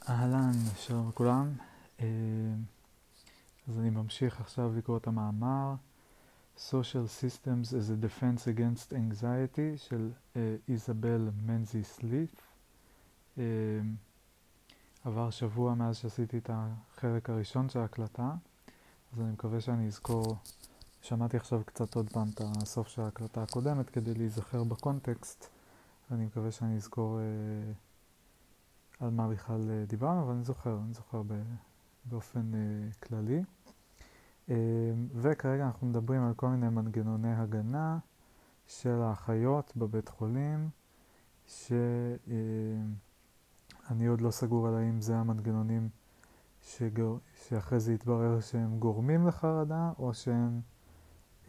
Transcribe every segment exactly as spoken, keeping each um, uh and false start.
אהלן, שלום לכולם. אה, אז אני ממשיך עכשיו לקרוא את המאמר Social Systems as a Defense Against Anxiety של אה, איזבל מנזיס ליף. אה, עבר שבוע מאז שעשיתי את החלק הראשון של ההקלטה, אז אני מקווה שאני אזכור. שמעתי עכשיו קצת עוד פעם את הסוף של ההקלטה הקודמת כדי להיזכר בקונטקסט, ואני מקווה שאני אזכור אה, על מה בכלל אה, דיברנו, אבל אני זוכר, אני זוכר ב... באופן uh, כללי. Uh, וכרגע אנחנו מדברים על כל מיני מנגנוני הגנה של האחיות בבית חולים, שאני uh, עוד לא סגור על האם זה המנגנונים שגור... שאחרי זה יתברר שהם גורמים לחרדה, או שהם uh,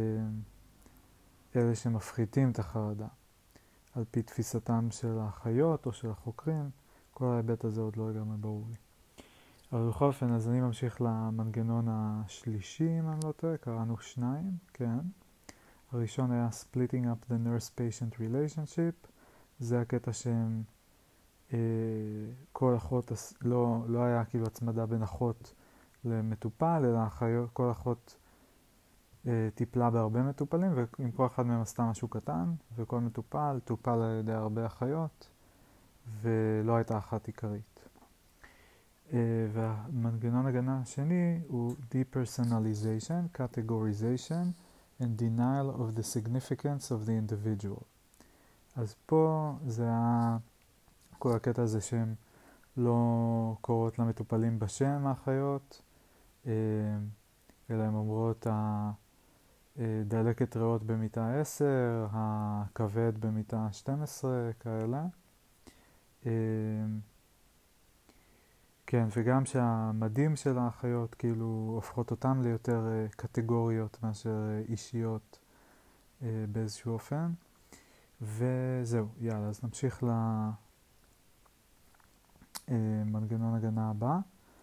אלה שמפחיתים את החרדה, על פי תפיסתם של האחיות או של החוקרים. כל ההיבט הזה עוד לא לגמרי ברור לי. אבל בכל אופן, אז אני ממשיך למנגנון השלישי, אם אני לא טועה, קראנו שניים, כן. הראשון היה splitting up the nurse-patient relationship, זה הקטע שהם, אה, כל אחות, לא, לא היה כאילו הצמדה בין אחות למטופל, אלא אחיות, כל אחות אה, טיפלה בהרבה מטופלים, ועם כל אחד מהם עשתה משהו קטן, וכל מטופל טופל על ידי הרבה אחיות, ולא הייתה אחת עיקרית. Uh, והמנגנון הגנה השני הוא depersonalization, categorization and denial of the significance of the individual. אז פה זה היה כל הקטע הזה שהם לא קוראות למטופלים בשם האחיות, uh, אלא הם אומרות הדלקת ריאות במיטה עשר, הכבד במיטה שתים עשרה, כאלה. Uh, כן, וגם שהמדים של האחיות כאילו הופכות אותם ליותר uh, קטגוריות מאשר uh, אישיות uh, באיזשהו אופן. וזהו, יאללה, אז נמשיך למנגנון uh, הגנה הבא,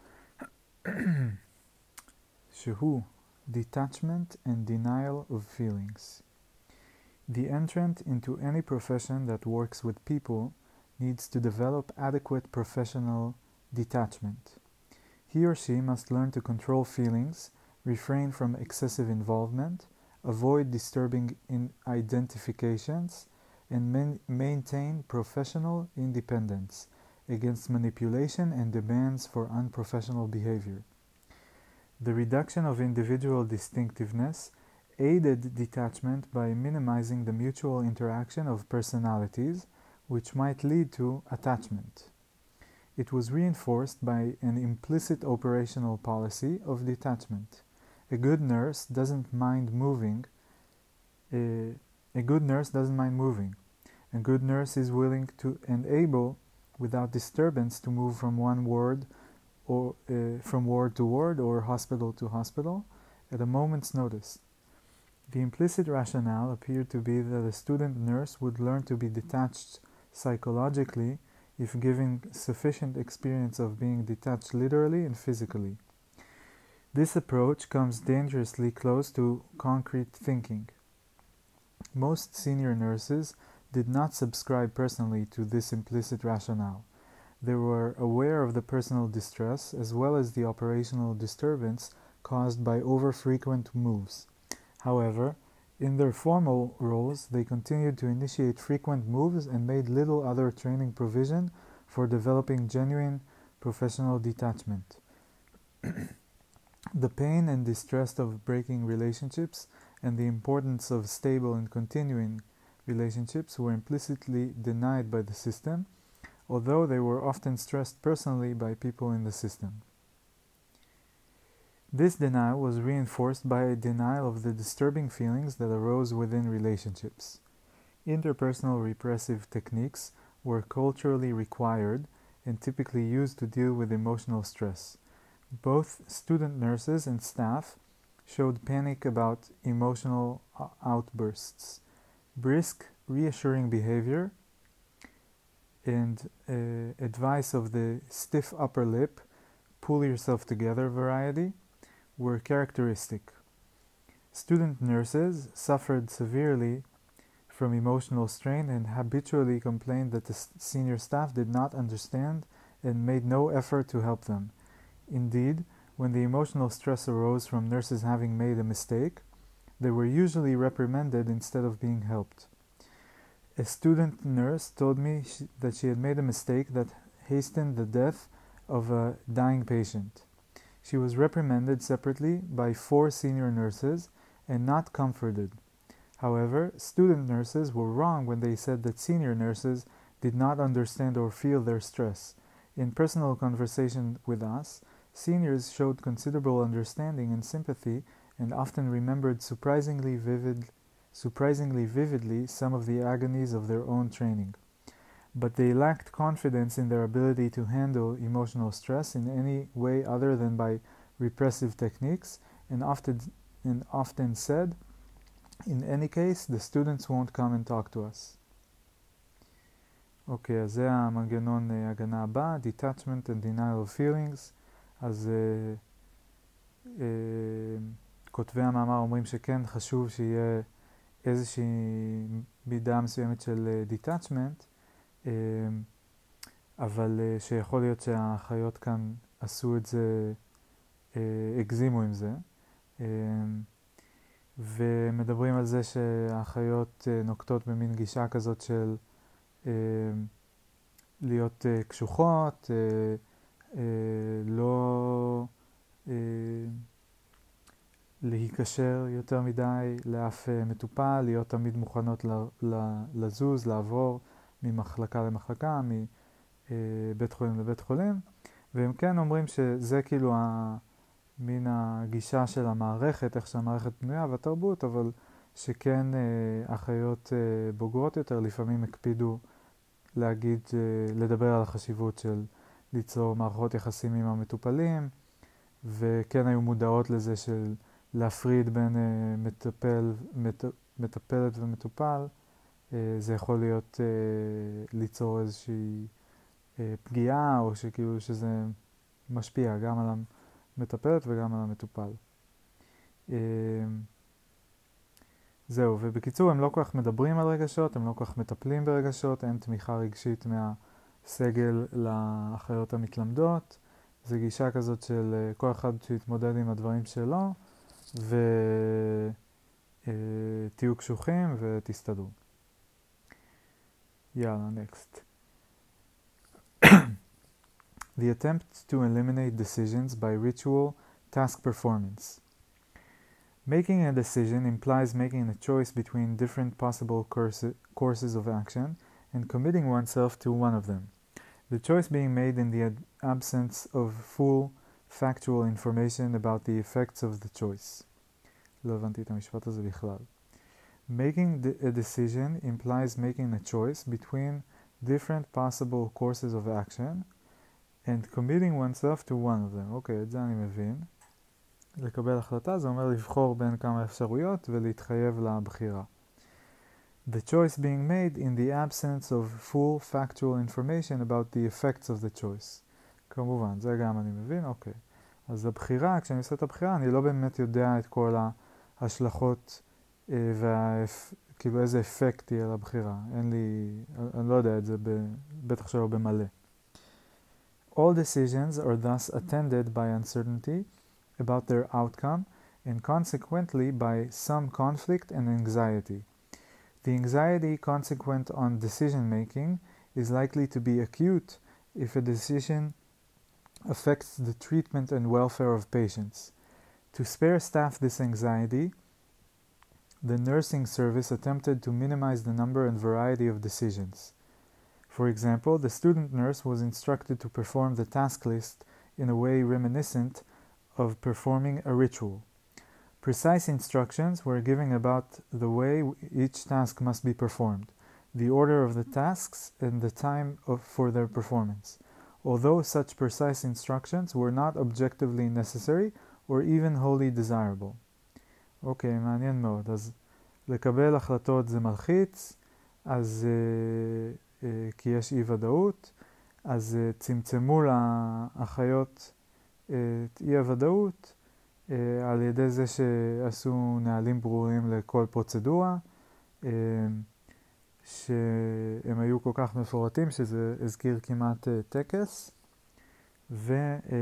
שהוא detachment and denial of feelings. The entrant into any profession that works with people needs to develop adequate professional detachment. He or she must learn to control feelings, refrain from excessive involvement, avoid disturbing in identifications, and man- maintain professional independence against manipulation and demands for unprofessional behavior. The reduction of individual distinctiveness aided detachment by minimizing the mutual interaction of personalities, which might lead to attachment. It was reinforced by an implicit operational policy of detachment. A good nurse doesn't mind moving. A, a good nurse doesn't mind moving. A good nurse is willing to and able, without disturbance, to move from one ward or uh, from ward to ward or hospital to hospital at a moment's notice. The implicit rationale appeared to be that a student nurse would learn to be detached psychologically if given sufficient experience of being detached literally and physically. This approach comes dangerously close to concrete thinking. Most senior nurses did not subscribe personally to this implicit rationale. They were aware of the personal distress as well as the operational disturbance caused by over-frequent moves. However, in their formal roles, they continued to initiate frequent moves and made little other training provision for developing genuine professional detachment. The pain and distress of breaking relationships and the importance of stable and continuing relationships were implicitly denied by the system, although they were often stressed personally by people in the system. This denial was reinforced by a denial of the disturbing feelings that arose within relationships. Interpersonal repressive techniques were culturally required and typically used to deal with emotional stress. Both student nurses and staff showed panic about emotional outbursts. Brisk, reassuring behavior and uh, advice of the stiff upper lip, pull yourself together variety were characteristic. Student nurses suffered severely from emotional strain and habitually complained that the senior staff did not understand and made no effort to help them. Indeed, when the emotional stress arose from nurses having made a mistake, they were usually reprimanded instead of being helped. A student nurse told me she, that she had made a mistake that hastened the death of a dying patient. She was reprimanded separately by four senior nurses and not comforted. However, student nurses were wrong when they said that senior nurses did not understand or feel their stress. In personal conversation with us, seniors showed considerable understanding and sympathy and often remembered surprisingly vivid, surprisingly vividly some of the agonies of their own training. But they lacked confidence in their ability to handle emotional stress in any way other than by repressive techniques, and often, and often said, in any case, the students won't come and talk to us. אוקיי, אז זה המנגנון uh, הגנה הבא, detachment and denial of feelings. אז uh, uh, כותבי המאמר אומרים שכן חשוב שיהיה איזושהי מידה מסוימת של uh, detachment, uh, אבל uh, שיכול להיות שהאחיות כאן עשו את זה, uh, הגזימו עם זה. Uh, ומדברים על זה שהאחיות uh, נוקטות במין גישה כזאת של uh, להיות uh, קשוחות, uh, uh, לא uh, להיקשר יותר מדי לאף uh, מטופל, להיות תמיד מוכנות ל, ל, לזוז, לעבור ממחלקה למחלקה, מבית חולים לבית חולים, והם כן אומרים שזה כאילו ה... מן הגישה של המערכת, איך שהמערכת בנויה והתרבות, אבל שכן אה, אחיות אה, בוגרות יותר לפעמים הקפידו להגיד, אה, לדבר על החשיבות של ליצור מערכות יחסים עם המטופלים, וכן היו מודעות לזה של להפריד בין אה, מטפל, מט, מטפלת ומטופל. אה, זה יכול להיות אה, ליצור איזושהי אה, פגיעה, או שכאילו שזה משפיע גם על המטופל, מטפלת וגם על המטופל. זהו, ובקיצור הם לא כל כך מדברים על רגשות, הם לא כל כך מטפלים ברגשות, אין תמיכה רגשית מהסגל לאחיות המתלמדות. זו גישה כזאת של כל אחד שיתמודד עם הדברים שלו, ותהיו קשוחים ותסתדרו. יאללה, next. The attempt to eliminate decisions by ritual task performance. Making a decision implies making a choice between different possible course- courses of action and committing oneself to one of them. The choice being made in the ad- absence of full factual information about the effects of the choice. לא הבנתי את המשפט הזה בכלל. Making a decision implies making a choice between different possible courses of action and committing oneself to one of them. אוקיי, את זה אני מבין. לקבל החלטה זה אומר לבחור בין כמה אפשרויות ולהתחייב לבחירה. The choice being made in the absence of full factual information about the effects of the choice. כמובן, זה גם אני מבין, אוקיי. אז הבחירה, כשאני עושה את הבחירה, אני לא באמת יודע את כל ההשלכות וכאילו איזה אפקט יהיה לבחירה. אין לי, אני לא יודע את זה, בטח שלא במלא. All decisions are thus attended by uncertainty about their outcome and consequently by some conflict and anxiety. The anxiety consequent on decision-making is likely to be acute if a decision affects the treatment and welfare of patients. To spare staff this anxiety, the nursing service attempted to minimize the number and variety of decisions. For example, the student nurse was instructed to perform the task list in a way reminiscent of performing a ritual. Precise instructions were given about the way each task must be performed, the order of the tasks, and the time of, for their performance, although such precise instructions were not objectively necessary or even wholly desirable. אוקיי, מעניין מאוד. אז לקבל החלטות זה מלחיץ, אז... Uh, כי יש אי ודאות, אז צמצמו לאחיות את אי הוודאות על ידי זה שעשו נהלים ברורים לכל פרוצדורה, שהם היו כל כך מפורטים שזה הזכיר כמעט טקס. ו,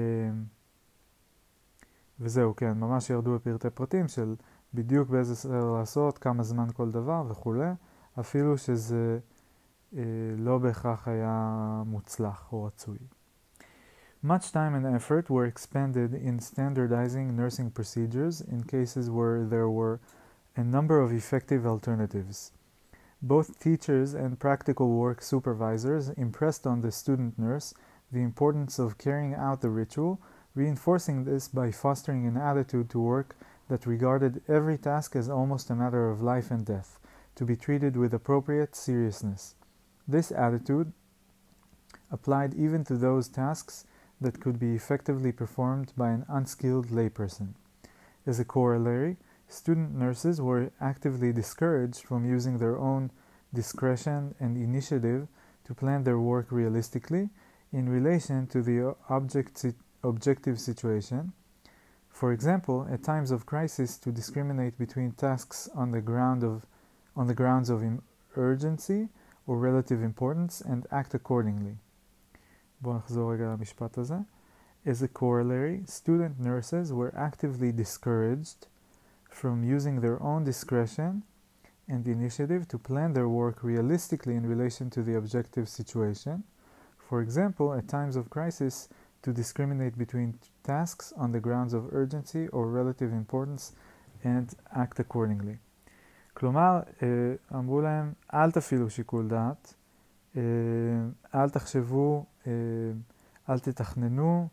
וזהו, כן, ממש ירדו בפרטי פרטים של בדיוק באיזה סדר לעשות, כמה זמן כל דבר וכו', אפילו שזה לא בהכרח היה מוצלח או רצוי. Much time and effort were expended in standardizing nursing procedures in cases where there were a number of effective alternatives. Both teachers and practical work supervisors impressed on the student nurse the importance of carrying out the ritual, reinforcing this by fostering an attitude to work that regarded every task as almost a matter of life and death, to be treated with appropriate seriousness. This attitude applied even to those tasks that could be effectively performed by an unskilled layperson. As a corollary, student nurses were actively discouraged from using their own discretion and initiative to plan their work realistically in relation to the object, objective situation. For example, at times of crisis, to discriminate between tasks on the ground of, on the grounds of urgency or relative importance and act accordingly. בואו נחזור רגע למשפט הזה. As a corollary, student nurses were actively discouraged from using their own discretion and initiative to plan their work realistically in relation to the objective situation. For example, at times of crisis, to discriminate between tasks on the grounds of urgency or relative importance and act accordingly. כלומר, אמרו להם, אל תפעילו שיקול דעת, אל תחשבו, אל תתכננו,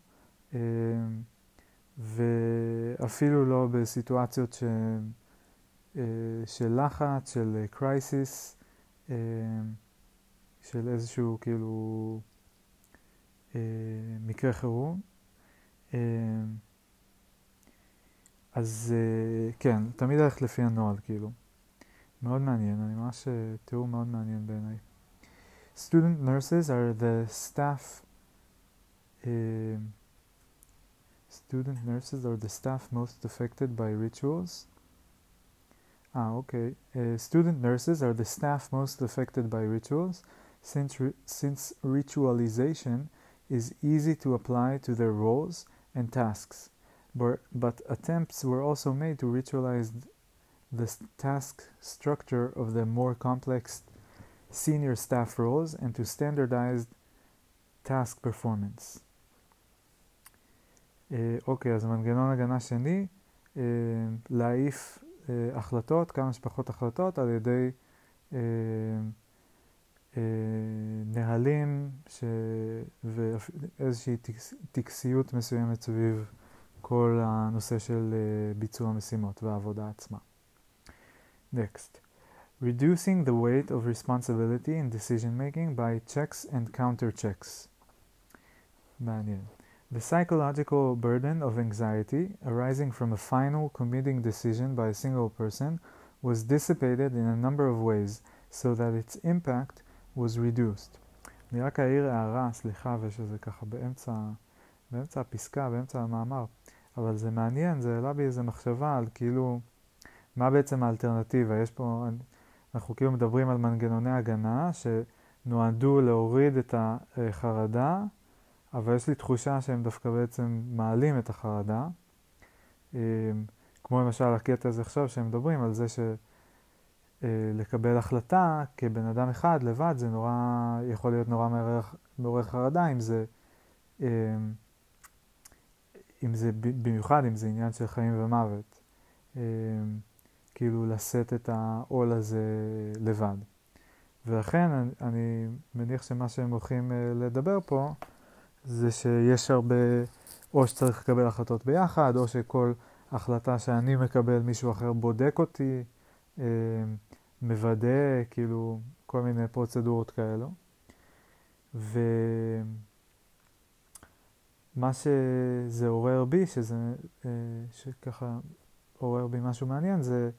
ואפילו לא בסיטואציות ש... של לחץ, של קרייסיס, של איזשהו כאילו מקרה חירום. אז כן, תמיד הלכת לפי הנוהל כאילו. מאוד מעניין, אני ממש תיאור מאוד מעניין בעיניי. Student nurses are the staff uh, student nurses are the staff most affected by rituals. Ah, okay. Uh, student nurses are the staff most affected by rituals since, ri- since ritualization is easy to apply to their roles and tasks. But, but attempts were also made to ritualize the task structure of the more complex senior staff roles and to standardize task performance. אוקיי, אז מנגנון הגנה שני, להעיף החלטות, כמה שפחות החלטות, על ידי נהלים ואיזושהי טקסיות מסוימת סביב כל הנושא של ביצוע משימות והעבודה עצמה. Next. Reducing the weight of responsibility in decision-making by checks and counter-checks. מעניין. The psychological burden of anxiety arising from a final committing decision by a single person was dissipated in a number of ways so that its impact was reduced. אני רק אעיר הערה, סליחה, ושזה ככה באמצע, באמצע הפסקה, באמצע המאמר, אבל זה מעניין, זה העלה בי איזו מחשבה על כאילו, מה בעצם האלטרנטיבה? יש פה, אנחנו כאילו מדברים על מנגנוני הגנה שנועדו להוריד את החרדה, אבל יש לי תחושה שהם דווקא בעצם מעלים את החרדה. כמו למשל הקטע הזה עכשיו שהם מדברים על זה שלקבל החלטה כבן אדם אחד לבד זה נורא, יכול להיות נורא מעורר חרדה, אם זה, אם זה במיוחד, אם זה עניין של חיים ומוות. כאילו לשאת את העול הזה לבד. ולכן אני, אני מניח שמה שהם הולכים לדבר פה זה שיש הרבה, או שצריך לקבל החלטות ביחד, או שכל החלטה שאני מקבל מישהו אחר בודק אותי, מוודא, כאילו כל מיני פרוצדורות כאלו. ומה שזה עורר בי, שזה, שככה עורר בי משהו מעניין, זה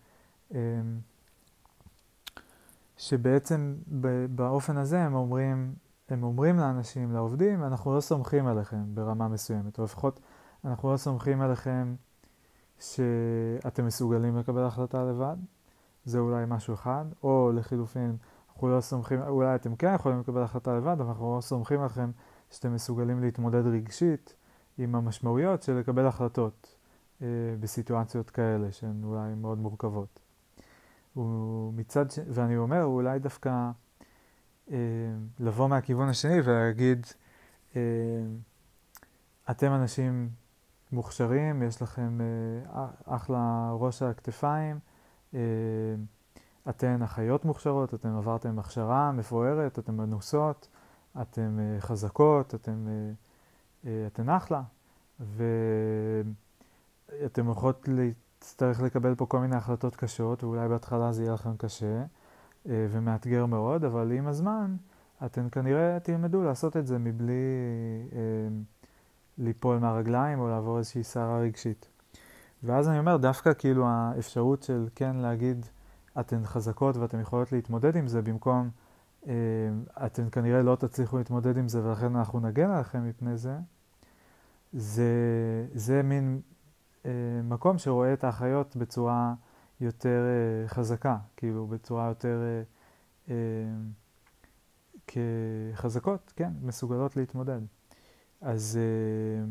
שבעצם באופן הזה הם אומרים, הם אומרים לאנשים, לעובדים, אנחנו לא סומכים עליכם ברמה מסוימת, או לפחות אנחנו לא סומכים עליכם שאתם מסוגלים לקבל החלטה לבד, זה אולי משהו אחד, או לחילופין, אנחנו לא סומכים, אולי אתם כן יכולים לקבל החלטה לבד, אבל אנחנו לא סומכים עליכם שאתם מסוגלים להתמודד רגשית עם המשמעויות של לקבל החלטות אה, בסיטואציות כאלה שהן אולי מאוד מורכבות. ומצד ש... ואני אומר, אולי דווקא אה, לבוא מהכיוון השני ולהגיד, אה, אתם אנשים מוכשרים, יש לכם אה, אחלה ראש על הכתפיים, אה, אתן אחיות מוכשרות, אתן עברתם הכשרה מפוארת, אתן מנוסות, אתן אה, חזקות, אתן, אה, אה, אתן אחלה, ואתן הולכות להצטרך לקבל פה כל מיני החלטות קשות, ואולי בהתחלה זה יהיה לכם קשה אה, ומאתגר מאוד, אבל עם הזמן אתן כנראה תלמדו לעשות את זה מבלי אה, ליפול מהרגליים או לעבור איזושהי סערה רגשית. ואז אני אומר, דווקא כאילו האפשרות של כן להגיד, אתן חזקות ואתן יכולות להתמודד עם זה, במקום אה, אתן כנראה לא תצליחו להתמודד עם זה ולכן אנחנו נגן עליכם מפני זה, זה, זה מין אה, מקום שרואה את האחיות בצורה יותר אה, חזקה, כאילו בצורה יותר אה, אה, כחזקות, כן, מסוגלות להתמודד. אז, אה,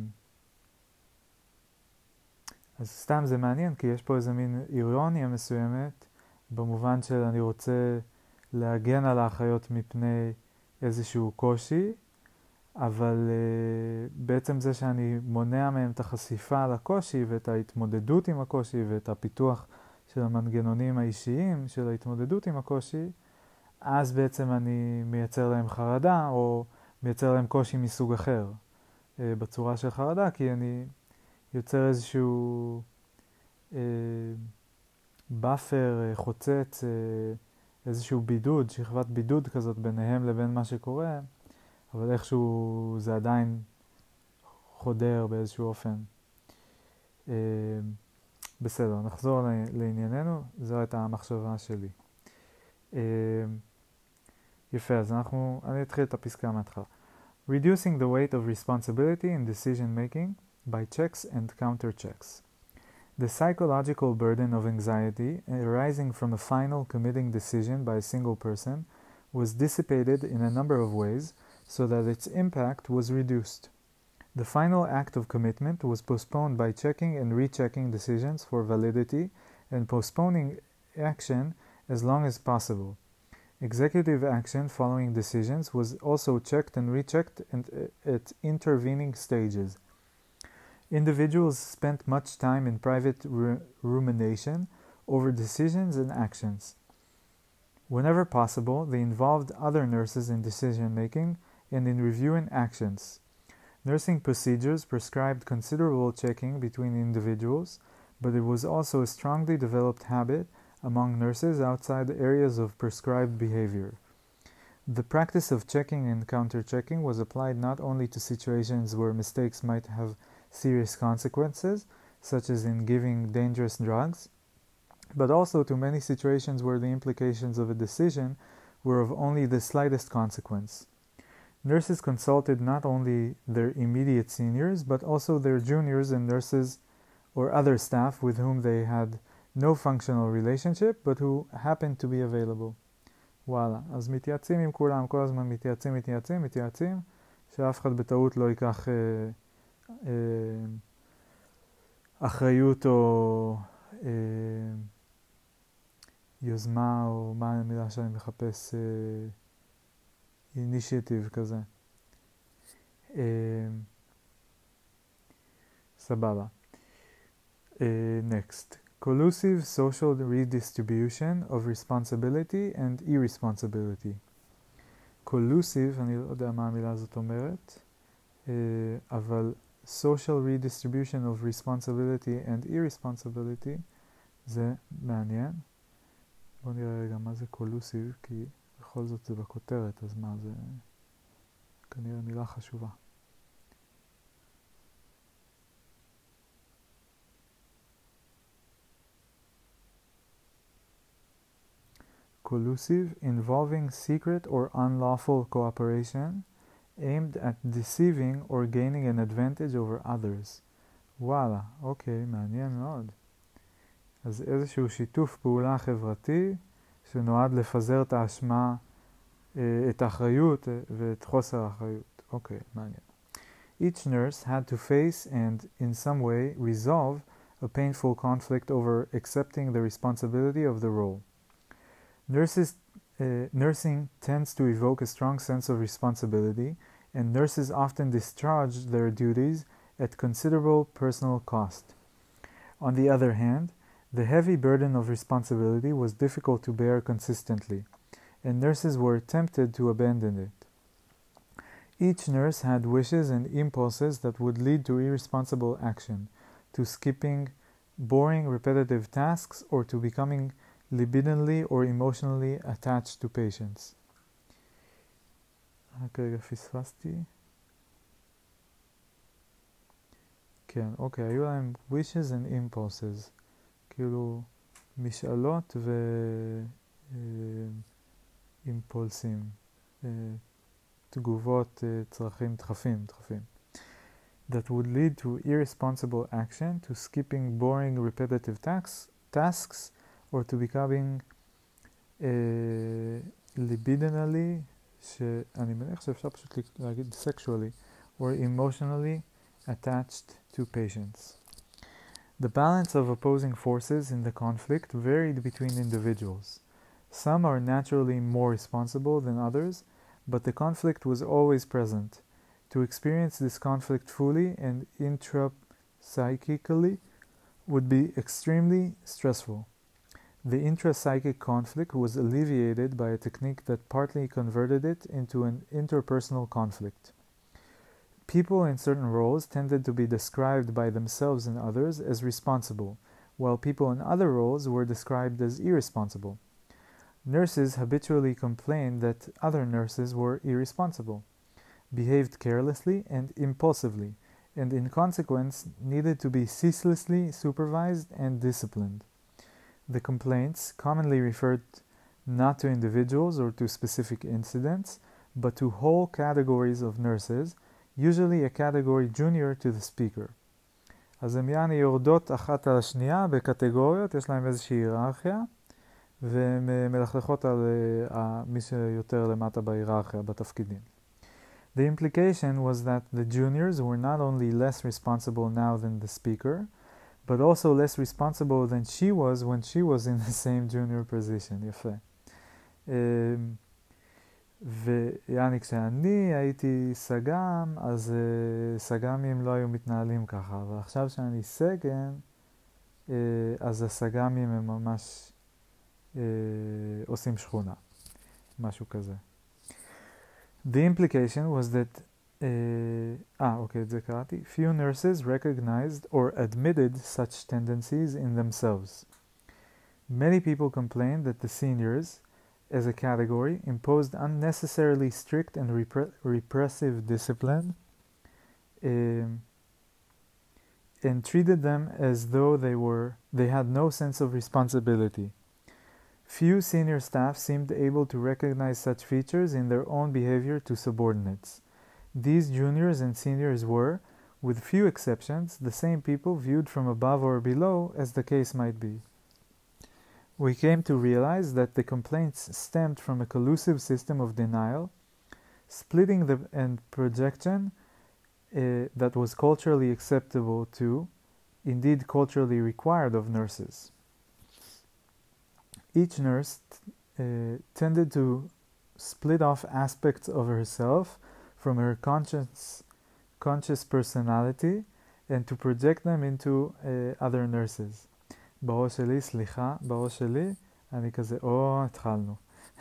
אז סתם זה מעניין, כי יש פה איזה מין אירוניה מסוימת, במובן של אני רוצה להגן על האחיות מפני איזשהו קושי, אבל uh, בעצם זה שאני מונע מהם את החשיפה לקושי ואת ההתמודדות עם הקושי ואת הפיתוח של המנגנונים האישיים של ההתמודדות עם הקושי, אז בעצם אני מייצר להם חרדה או מייצר להם קושי מסוג אחר uh, בצורה של חרדה, כי אני יוצר איזשהו uh, באפר, uh, חוצץ, uh, איזשהו בידוד, שכבת בידוד כזאת ביניהם לבין מה שקורה, אבל איכשהו זה עדיין חודר באיזשהו אופן. אה, בסדר, נחזור לענייננו, זו הייתה המחשבה שלי. אה, יפה, אז אנחנו, אני אתחיל את הפסקה מההתחלה. Reducing the weight of responsibility in decision making by checks and counter-checks. The psychological burden of anxiety arising from a final committing decision by a single person was dissipated in a number of ways so that its impact was reduced. The final act of commitment was postponed by checking and rechecking decisions for validity and postponing action as long as possible. Executive action following decisions was also checked and rechecked at intervening stages. Individuals spent much time in private rumination over decisions and actions. Whenever possible, they involved other nurses in decision-making and in reviewing actions. Nursing procedures prescribed considerable checking between individuals, but it was also a strongly developed habit among nurses outside areas of prescribed behavior. The practice of checking and counter-checking was applied not only to situations where mistakes might have serious consequences, such as in giving dangerous drugs, but also to many situations where the implications of a decision were of only the slightest consequence. Nurses consulted not only their immediate seniors, but also their juniors and nurses or other staff with whom they had no functional relationship, but who happened to be available. וואלה, אז מתייעצים עם כולם, כל הזמן מתייעצים, מתייעצים, מתייעצים, שאף אחד בטעות לא ייקח אה, אה, אחריות או אה, יוזמה, או מה המילה שאני מחפש, אה, אינישיטיב כזה. אה, סבבה. Uh, next, collusive social redistribution of responsibility and irresponsibility. collusive, אני לא יודע מה המילה הזאת אומרת, uh, אבל social redistribution of responsibility and irresponsibility זה מעניין. בואו נראה רגע מה זה collusive, כי בכל זאת זה בכותרת, אז מה זה כנראה מילה חשובה. collusive, involving secret or unlawful cooperation aimed at deceiving or gaining an advantage over others. וואלה, אוקיי, מעניין מאוד. אז איזשהו שיתוף פעולה חברתי שנועד לפזר את האשמה, את האחריות ואת חוסר האחריות. אוקיי, מעניין. Each nurse had to face and, in some way, resolve a painful conflict over accepting the responsibility of the role. Nurses, uh, nursing tends to evoke a strong sense of responsibility, and nurses often discharge their duties at considerable personal cost. On the other hand, the heavy burden of responsibility was difficult to bear consistently, and nurses were tempted to abandon it. Each nurse had wishes and impulses that would lead to irresponsible action, to skipping boring, repetitive tasks, or to becoming libidinally or emotionally attached to patients. רק רגע פספסתי. כן, אוקיי, היו להם wishes and impulses, כאילו משאלות ואימפולסים, תגובות, צרכים, דחפים, דחפים. That would lead to irresponsible action, to skipping boring repetitive tasks, tasks or to becoming uh, libidinally, שאני מניח שאפשר פשוט להגיד sexually, or emotionally attached to patients. The balance of opposing forces in the conflict varied between individuals. Some are naturally more responsible than others, but the conflict was always present. To experience this conflict fully and intrapsychically would be extremely stressful. The intrapsychic conflict was alleviated by a technique that partly converted it into an interpersonal conflict. People in certain roles tended to be described by themselves and others as responsible, while people in other roles were described as irresponsible. Nurses habitually complained that other nurses were irresponsible, behaved carelessly and impulsively, and in consequence needed to be ceaselessly supervised and disciplined. The complaints commonly referred not to individuals or to specific incidents, but to whole categories of nurses, usually a category junior to the speaker. אז הן יעני יורדות אחת על השנייה בקטגוריות, יש להם איזושהי היררכיה, והן מלכלכות על uh, מי שיותר למטה בהיררכיה, בתפקידים. The implication was that the juniors were not only less responsible now than the speaker, but also less responsible than she was when she was in the same junior position. יפה. ויעני, כשאני הייתי סג"ם, אז uh, סג"מים לא היו מתנהלים ככה, ועכשיו שאני סגן, uh, אז הסג"מים הם ממש uh, עושים שכונה, משהו כזה. The implication was that ah, okay, את זה קראתי. Few nurses recognized or admitted such tendencies in themselves. Many people complained that the seniors, as a category, imposed unnecessarily strict and repre- repressive discipline um, and treated them as though they were they had no sense of responsibility. Few senior staff seemed able to recognize such features in their own behavior to subordinates. These juniors and seniors were, with few exceptions, the same people viewed from above or below, as the case might be. We came to realize that the complaints stemmed from a collusive system of denial, splitting the and projection uh, that was culturally acceptable to, indeed culturally required of nurses. Each nurse uh, tended to split off aspects of herself from her conscious, conscious personality and to project them into uh, other nurses. בראש שלי, סליחה, בראש שלי, אני כזה, או, התחלנו.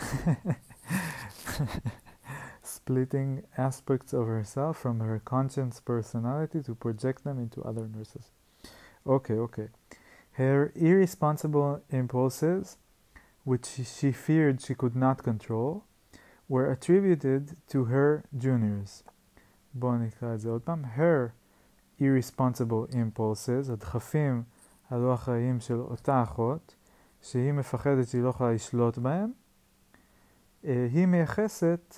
Splitting aspects of herself from her conscious personality to project them into other nurses. Okay, okay. Her irresponsible impulses, which she feared she could not control, were attributed to her juniors. בואו נקרא את זה עוד פעם. Her irresponsible impulses, הדחפים הלא אחראיים של אותה אחות, שהיא מפחדת שהיא לא יכולה לשלוט בהם, היא מייחסת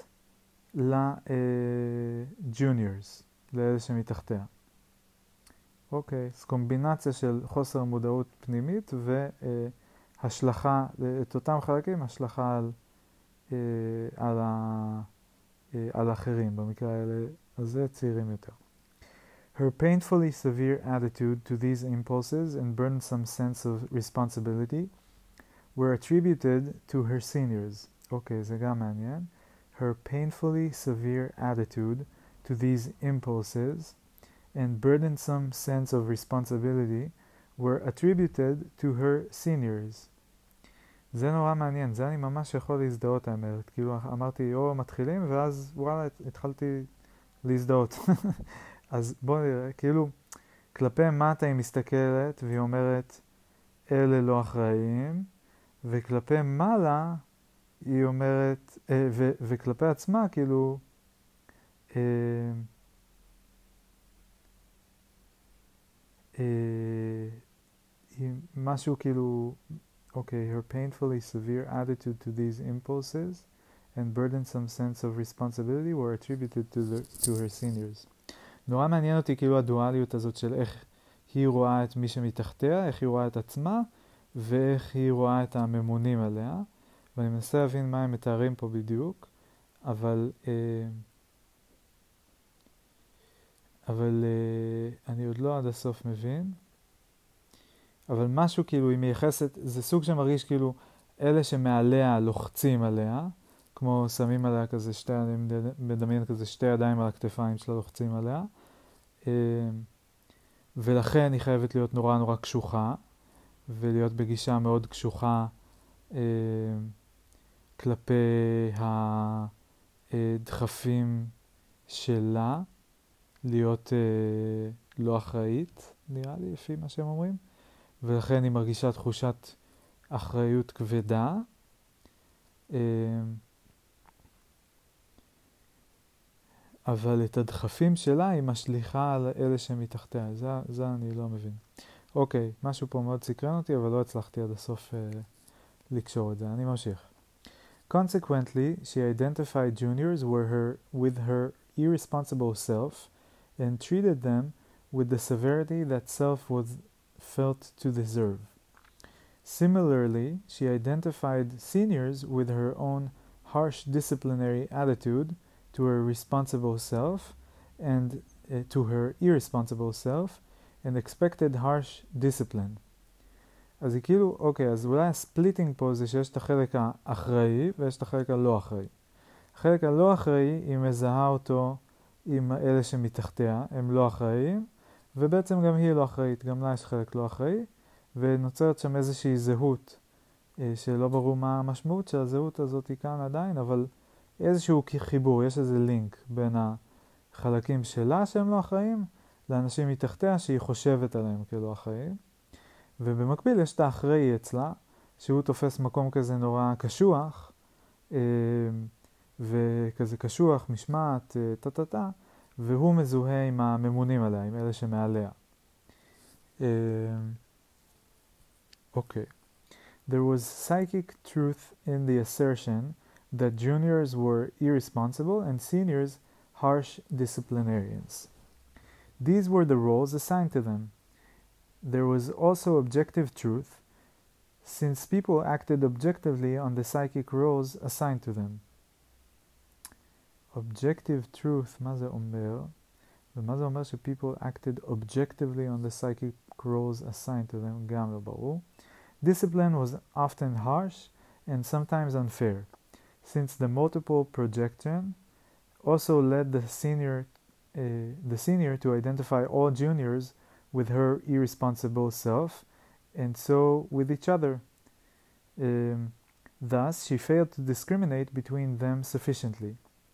ל-juniors, לאלה שמתחתיה. אוקיי, אז קומבינציה של חוסר מודעות פנימית והשלכה, את אותם חלקים, השלכה על, על, ה, על האחרים, במקרה האלה אז זה צעירים יותר. Her painfully severe attitude to these impulses and burdensome sense of responsibility were attributed to her seniors. אוקיי, זה גם מעניין. Her painfully severe attitude to these impulses and burdensome sense of responsibility were attributed to her seniors. זה נורא מעניין, זה אני ממש יכול להזדהות האמת. כאילו אמרתי, או מתחילים, ואז וואלה, התחלתי להזדהות. אז בואו נראה, כאילו, כלפי מטה היא מסתכלת והיא אומרת, אלה לא אחראים, וכלפי מעלה היא אומרת, אה, ו- וכלפי עצמה, כאילו, אה, אה, היא משהו כאילו, אוקיי, her painfully severe attitude to these impulses and burdensome sense of responsibility were attributed to, the, to her seniors. נורא מעניין אותי כאילו הדואליות הזאת של איך היא רואה את מי שמתחתיה, איך היא רואה את עצמה, ואיך היא רואה את הממונים עליה. ואני מנסה להבין מה הם מתארים פה בדיוק, אבל, אה, אבל אה, אני עוד לא עד הסוף מבין. אבל משהו כאילו היא מייחסת, זה סוג שמרגיש כאילו אלה שמעליה לוחצים עליה, כמו שמים עליה כזה שתי, אני מדמיין כזה שתי ידיים על הכתפיים שלה לוחצים עליה, ולכן היא חייבת להיות נורא נורא קשוחה, ולהיות בגישה מאוד קשוחה כלפי הדחפים שלה, להיות לא אחראית, נראה לי, לפי מה שהם אומרים. ולכן היא מרגישה תחושת אחריות כבדה. אבל את הדחפים שלה היא משליחה על אלה שמתחתיה. זה, זה אני לא מבין. אוקיי, משהו פה מאוד סקרן אותי, אבל לא הצלחתי עד הסוף אה, לקשור את זה. אני ממשיך. Consequently, she identified juniors were her, with her irresponsible self and treated them with the severity that self was felt to deserve. Similarly, she identified seniors with her own harsh disciplinary attitude to her responsible self and uh, to her irresponsible self and expected harsh discipline. אז היא כאילו, אוקיי, אז אולי הספליטינג פה זה שיש את החלק האחראי ויש את החלק הלא אחראי. החלק הלא אחראי, היא מזהה אותו עם אלה שמתחתיה, הם לא אחראיים, ובעצם גם היא לא אחראית, גם לה יש חלק לא אחראי, ונוצרת שם איזושהי זהות, שלא ברור מה המשמעות של הזהות הזאת היא כאן עדיין, אבל איזשהו חיבור, יש איזה לינק בין החלקים שלה שהם לא אחראים, לאנשים מתחתיה שהיא חושבת עליהם כלא אחראים. ובמקביל יש את האחראי אצלה, שהוא תופס מקום כזה נורא קשוח, וכזה קשוח, משמעת, טה-טה-טה, והוא מזוהה עם הממונים עליה, עם אלה שמעליה. אוקיי. There was psychic truth in the assertion that juniors were irresponsible and seniors harsh disciplinarians. These were the roles assigned to them. There was also objective truth, since people acted objectively on the psychic roles assigned to them. Objective truth, מה זה אומר? ומה זה אומר ש people acted objectively on the psychic roles assigned to them? גם לא ברור. Discipline was often harsh and sometimes unfair, since the multiple projection also led the senior, uh, the senior to identify all juniors with her irresponsible self, and so with each other. Um, thus, she failed to discriminate between them sufficiently.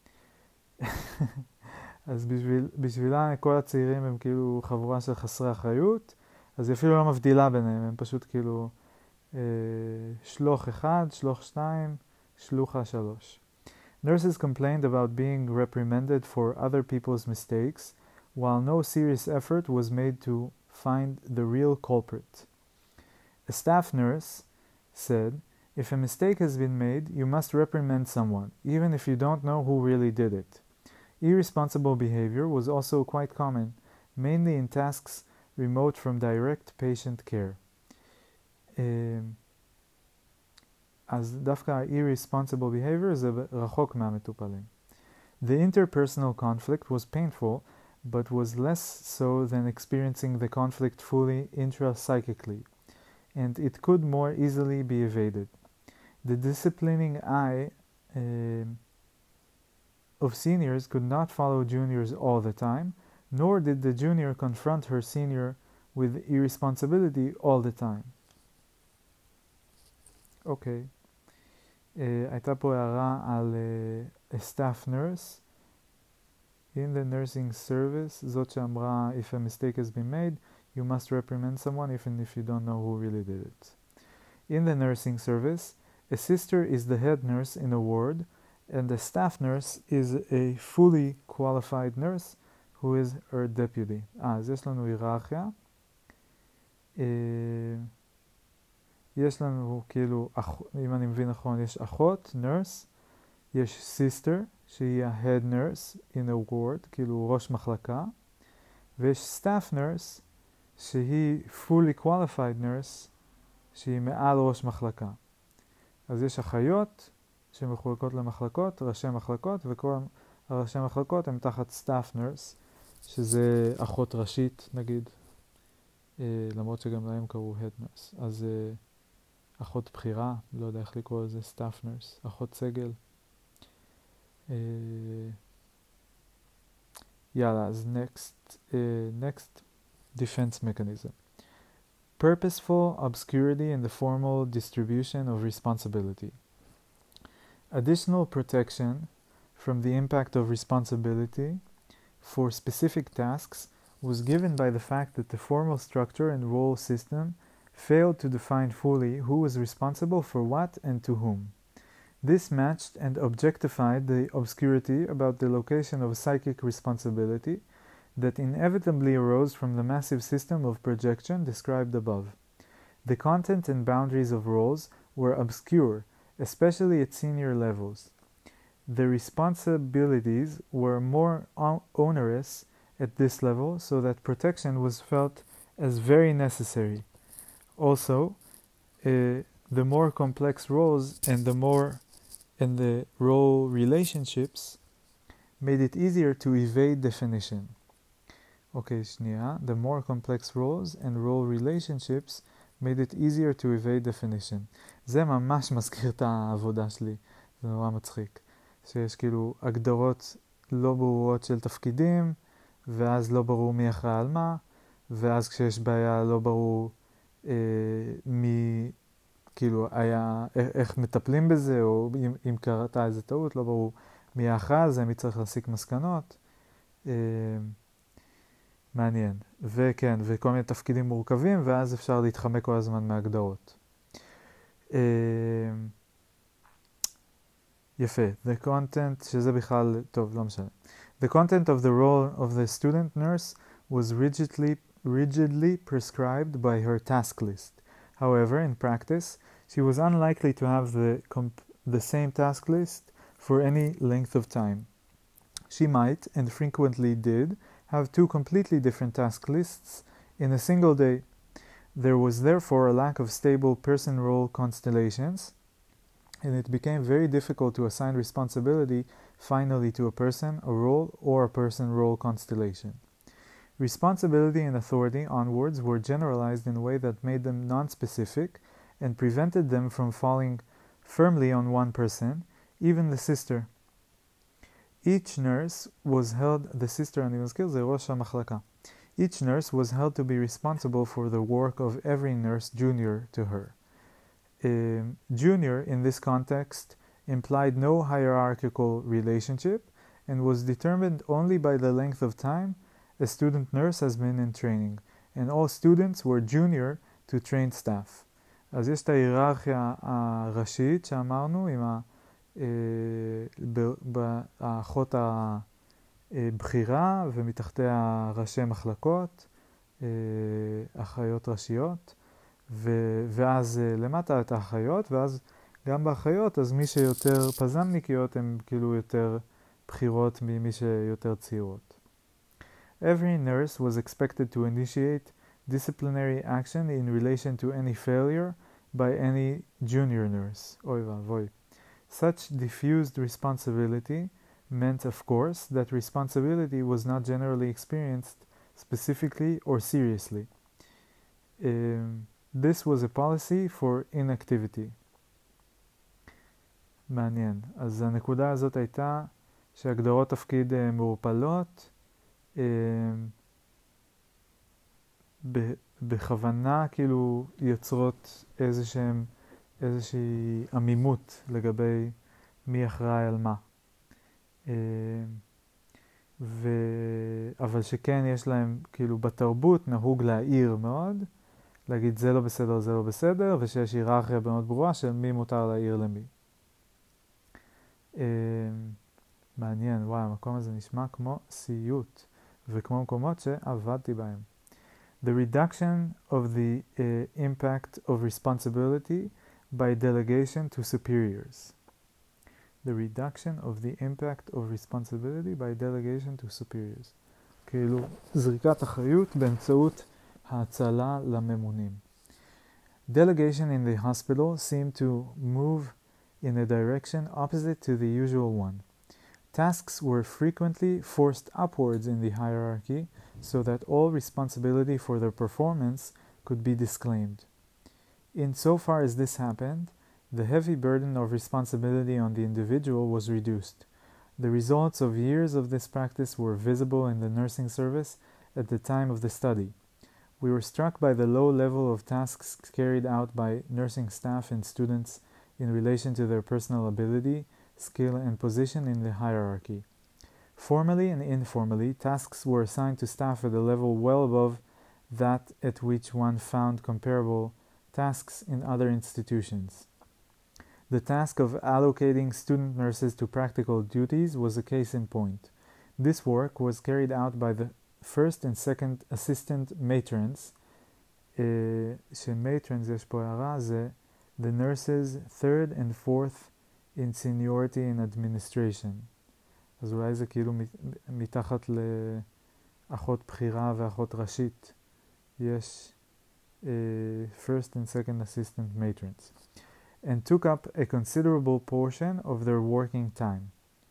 אז בשביל, בשבילה כל הצעירים הם כאילו חבורה של חסרי אחריות, אז היא אפילו לא מבדילה ביניהם, הם פשוט כאילו אה, שלוח אחד, שלוח שתיים, שלוחה שלוש. Nurses complained about being reprimanded for other people's mistakes, while no serious effort was made to find the real culprit. A staff nurse said, "If a mistake has been made, you must reprimand someone, even if you don't know who really did it." Irresponsible behavior was also quite common, mainly in tasks remote from direct patient care. אז דווקא irresponsible behavior זה רחוק מהמטופלים. The interpersonal conflict was painful, but was less so than experiencing the conflict fully intra-psychically, and it could more easily be evaded. The disciplining eye uh, of seniors could not follow juniors all the time, nor did the junior confront her senior with irresponsibility all the time. אוקיי. Uh, הייתה פה הערה על uh, a staff nurse in the nursing service, זאת שאמרה if a mistake has been made, you must reprimand someone even if you don't know who really did it. In the nursing service, a sister is the head nurse in a ward, and a staff nurse is a fully qualified nurse who is her deputy. אה, אז יש לנו היררכיה. Uh, יש לנו כאילו, אם אני מבין נכון, יש אחות, nurse, יש sister, שהיא ה-head nurse in a ward, כאילו ראש מחלקה, ויש staff nurse, שהיא fully qualified nurse, שהיא מעל ראש מחלקה. אז יש אחיות שמחולקות למחלקות, ראשי מחלקות, וכל הראשי מחלקות הם תחת staff nurse, שזה אחות ראשית נגיד, אה, למרות שגם להם קראו head nurse. אז אה, אחות בחירה, לא יודע איך לקרוא לזה, staff nurse, אחות סגל. אה, יאללה, אז next, אה, next defense mechanism. Purposeful obscurity in the formal distribution of responsibility. Additional protection from the impact of responsibility for specific tasks was given by the fact that the formal structure and role system failed to define fully who was responsible for what and to whom. This matched and objectified the obscurity about the location of psychic responsibility that inevitably arose from the massive system of projection described above. The content and boundaries of roles were obscure, especially at senior levels. The responsibilities were more onerous at this level, so that protection was felt as very necessary. Also, uh, the more complex roles and the more and the role relationships made it easier to evade definition. Okay, שנייה. The more complex roles and role relationships made it easier to evade definition. זה ממש מזכיר את העבודה שלי. זה נורא מצחיק. שיש כאילו הגדרות לא ברורות של תפקידים, ואז לא ברור מי אחראי על מה, ואז כשיש בעיה לא ברור אה, מי, כאילו, היה, איך מטפלים בזה, או אם, אם קרתה איזה טעות, לא ברור מי האחראי על זה, מי צריך להסיק מסקנות. אה, מעניין. וכן, וכל מיני תפקידים מורכבים, ואז אפשר להתחמק כל הזמן מהגדרות. אה, יפה. The content, שזה בכלל, טוב, לא משנה. The content of the role of the student nurse was rigidly, rigidly prescribed by her task list. However, in practice, she was unlikely to have the, comp- the same task list for any length of time. She might, and frequently did, have two completely different task lists in a single day. There was therefore a lack of stable person-role constellations, and it became very difficult to assign responsibility finally to a person, a role, or a person-role constellation. Responsibility and authority onwards were generalized in a way that made them non-specific and prevented them from falling firmly on one person, even the sister. Each nurse was held, the sister אני מזכיר זה ראש המחלקה. Each nurse was held to be responsible for the work of every nurse junior to her. Um, junior in this context implied no hierarchical relationship and was determined only by the length of time a student nurse has been in training, and all students were junior to trained staff. אז יש את ההיררכיה הראשית שאמרנו עם ה... באחות הבחירה ומתחתיה ראשי מחלקות, אחיות ראשיות, ואז למטה את האחיות, ואז גם באחיות, אז מי שיותר פזמניקיות הם כאילו יותר בחירות ממי שיותר צעירות. Every nurse was expected to initiate disciplinary action in relation to any failure by any junior nurse. אוי ואבוי. Such diffused responsibility meant, of course, that responsibility was not generally experienced specifically or seriously. Um, this was a policy for inactivity. מעניין. אז הנקודה הזאת הייתה שהגדרות תפקיד uh, מעורפלות, uh, ב- בכוונה כאילו יוצרות איזשהם, איזושהי עמימות לגבי מי אחראי על מה. Uh, ו... אבל שכן יש להם, כאילו בתרבות נהוג להעיר מאוד, להגיד זה לא בסדר, זה לא בסדר, ושיש היררכיה מאוד ברורה של מי מותר להעיר למי. Uh, מעניין, וואי, המקום הזה נשמע כמו סיוט, וכמו מקומות שעבדתי בהם. The reduction of the uh, impact of responsibility by delegation to superiors. The reduction of the impact of responsibility by delegation to superiors. כאילו, זריקת אחריות באמצעות האצלה לממונים. Delegation in the hospital seemed to move in a direction opposite to the usual one. Tasks were frequently forced upwards in the hierarchy so that all responsibility for their performance could be disclaimed. Insofar as this happened, the heavy burden of responsibility on the individual was reduced. The results of years of this practice were visible in the nursing service at the time of the study. We were struck by the low level of tasks carried out by nursing staff and students in relation to their personal ability, skill, and position in the hierarchy. Formally and informally, tasks were assigned to staff at a level well above that at which one found comparable tasks in other institutions. The task of allocating student nurses to practical duties was a case in point. This work was carried out by the first and second assistant matrons, ש-matrons יש פה הערה, זה the nurses third and fourth in seniority in administration. אז אולי זה כאילו מתחת לאחות בחירה ואחות ראשית. יש uh, first and second assistant matrons. And took up a considerable portion of their working time.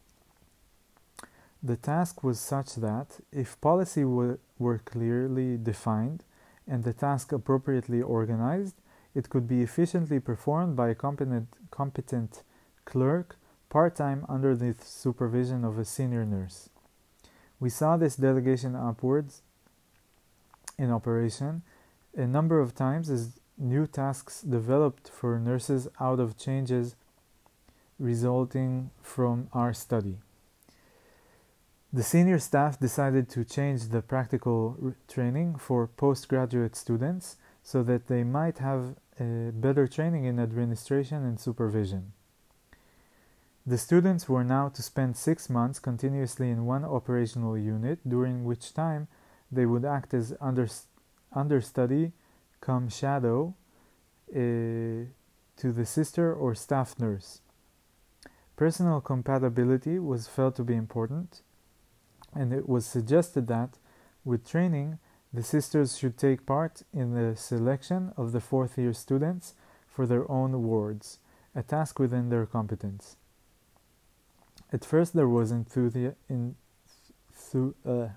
The task was such that, if policy were, were clearly defined and the task appropriately organized, it could be efficiently performed by a competent, competent clerk part-time under the supervision of a senior nurse. We saw this delegation upwards in operation a number of times as new tasks developed for nurses out of changes resulting from our study. The senior staff decided to change the practical r- training for postgraduate students so that they might have a better training in administration and supervision. The students were now to spend six months continuously in one operational unit, during which time they would act as under, understudy come shadow uh, to the sister or staff nurse. Personal compatibility was felt to be important, and it was suggested that, with training, the sisters should take part in the selection of the fourth year students for their own wards, a task within their competence. At first there was enthusi- in, thu- uh,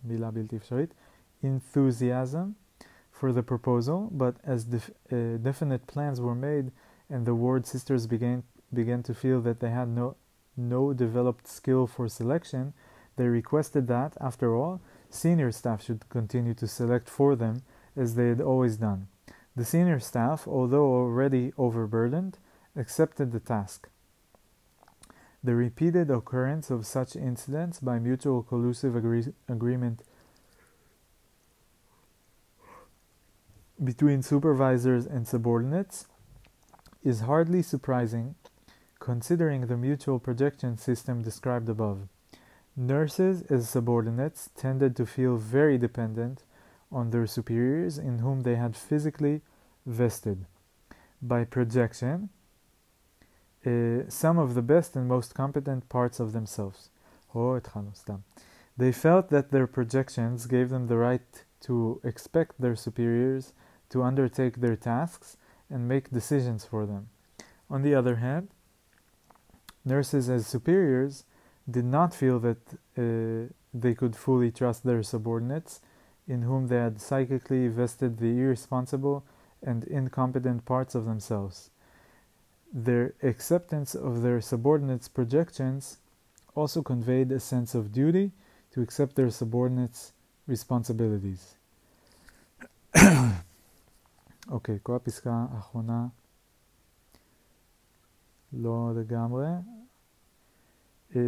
enthusiasm for the proposal, but as def- uh, definite plans were made and the ward sisters began began to feel that they had no no developed skill for selection, they requested that, after all, senior staff should continue to select for them as they had always done. The senior staff, although already overburdened, accepted the task. The repeated occurrence of such incidents by mutual collusive agree- agreement between supervisors and subordinates is hardly surprising, considering the mutual projection system described above. Nurses as subordinates tended to feel very dependent on their superiors in whom they had physically vested. By projection, uh, some of the best and most competent parts of themselves. Oh, they felt that their projections gave them the right to expect their superiors to undertake their tasks and make decisions for them. On the other hand, nurses as superiors did not feel that uh, they could fully trust their subordinates, in whom they had psychically vested the irresponsible and incompetent parts of themselves. Their acceptance of their subordinates' projections also conveyed a sense of duty to accept their subordinates' responsibilities. אוקיי, כל הפסקה האחרונה לא לגמרי. אה...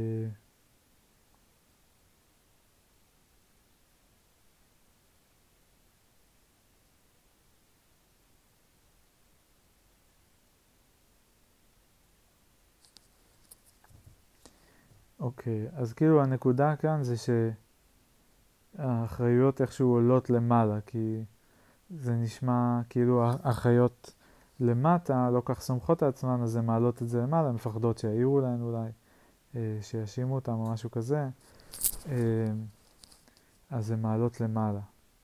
אוקיי, אז כאילו הנקודה כאן זה שהאחריות איכשהו עולות למעלה, כי זה נשמע כאילו האחריות למטה לא כך סומכות על עצמן, אז הן מעלות את זה למעלה, מפחדות שיעירו להן אולי, שישימו אותם או משהו כזה, אז הן מעלות למעלה.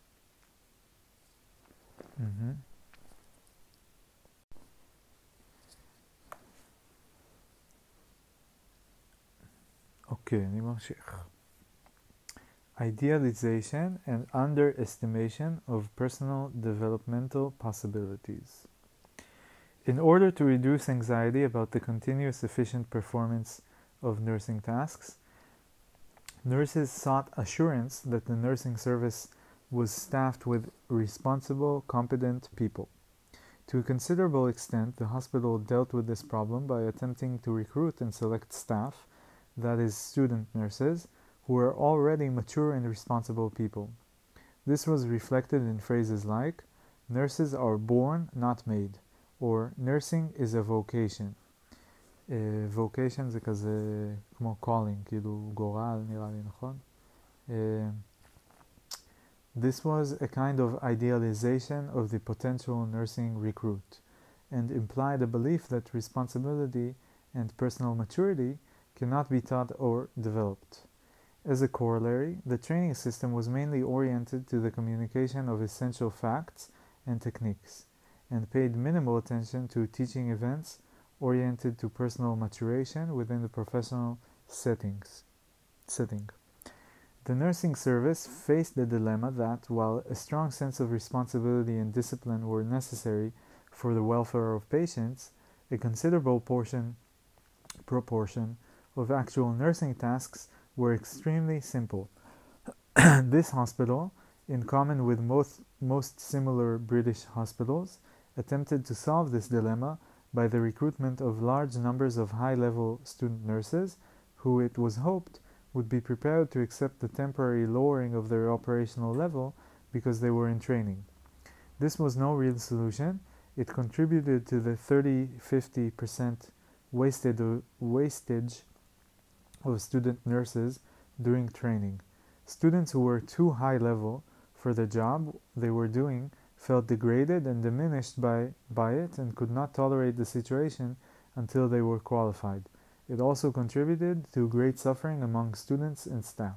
אוקיי, אני ממשיך. Idealization and underestimation of personal developmental possibilities. In order to reduce anxiety about the continuous efficient performance of nursing tasks, nurses sought assurance that the nursing service was staffed with responsible, competent people. To a considerable extent, the hospital dealt with this problem by attempting to recruit and select staff, that is, student nurses, who were already mature and responsible people. This was reflected in phrases like, nurses are born, not made, or nursing is a vocation. Uh, vocation זה כזה כמו calling, כאילו גורל, נראה לי, נכון? Uh, this was a kind of idealization of the potential nursing recruit, and implied a belief that responsibility and personal maturity cannot be taught or developed. As a corollary, the training system was mainly oriented to the communication of essential facts and techniques, and paid minimal attention to teaching events oriented to personal maturation within the professional settings. setting. The nursing service faced the dilemma that, while a strong sense of responsibility and discipline were necessary for the welfare of patients, a considerable portion, proportion of actual nursing tasks were extremely simple. This hospital, in common with most, most similar British hospitals, attempted to solve this dilemma by the recruitment of large numbers of high-level student nurses, who it was hoped would be prepared to accept the temporary lowering of their operational level because they were in training. This was no real solution. It contributed to the thirty to fifty percent wasted, wastage of student nurses during training. Students who were too high level for the job they were doing felt degraded and diminished by, by it and could not tolerate the situation until they were qualified. It also contributed to great suffering among students and staff.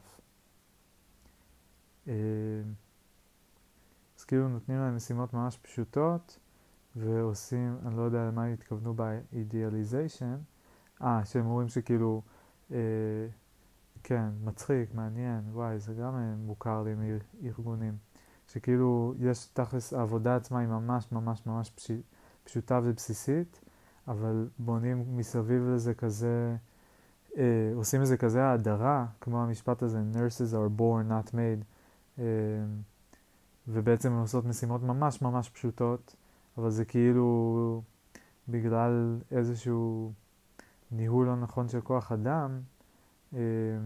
אז כאילו נותנים להם משימות ממש פשוטות ועושים, אני לא יודע למה התכוונו ב-idealization, אה, שהם אומרים שכאילו אה, כן, מצחיק, מעניין, וואי, זה גם מוכר לי מארגונים, שכאילו יש תכלס, העבודה עצמה היא ממש ממש ממש פש... פשוטה ובסיסית, אבל בונים מסביב לזה כזה, אה, עושים לזה כזה ההדרה, כמו המשפט הזה, nurses are born, not made, אה, ובעצם הם עושות משימות ממש ממש פשוטות, אבל זה כאילו בגלל איזשהו ניהול לא נכון של כוח אדם, הם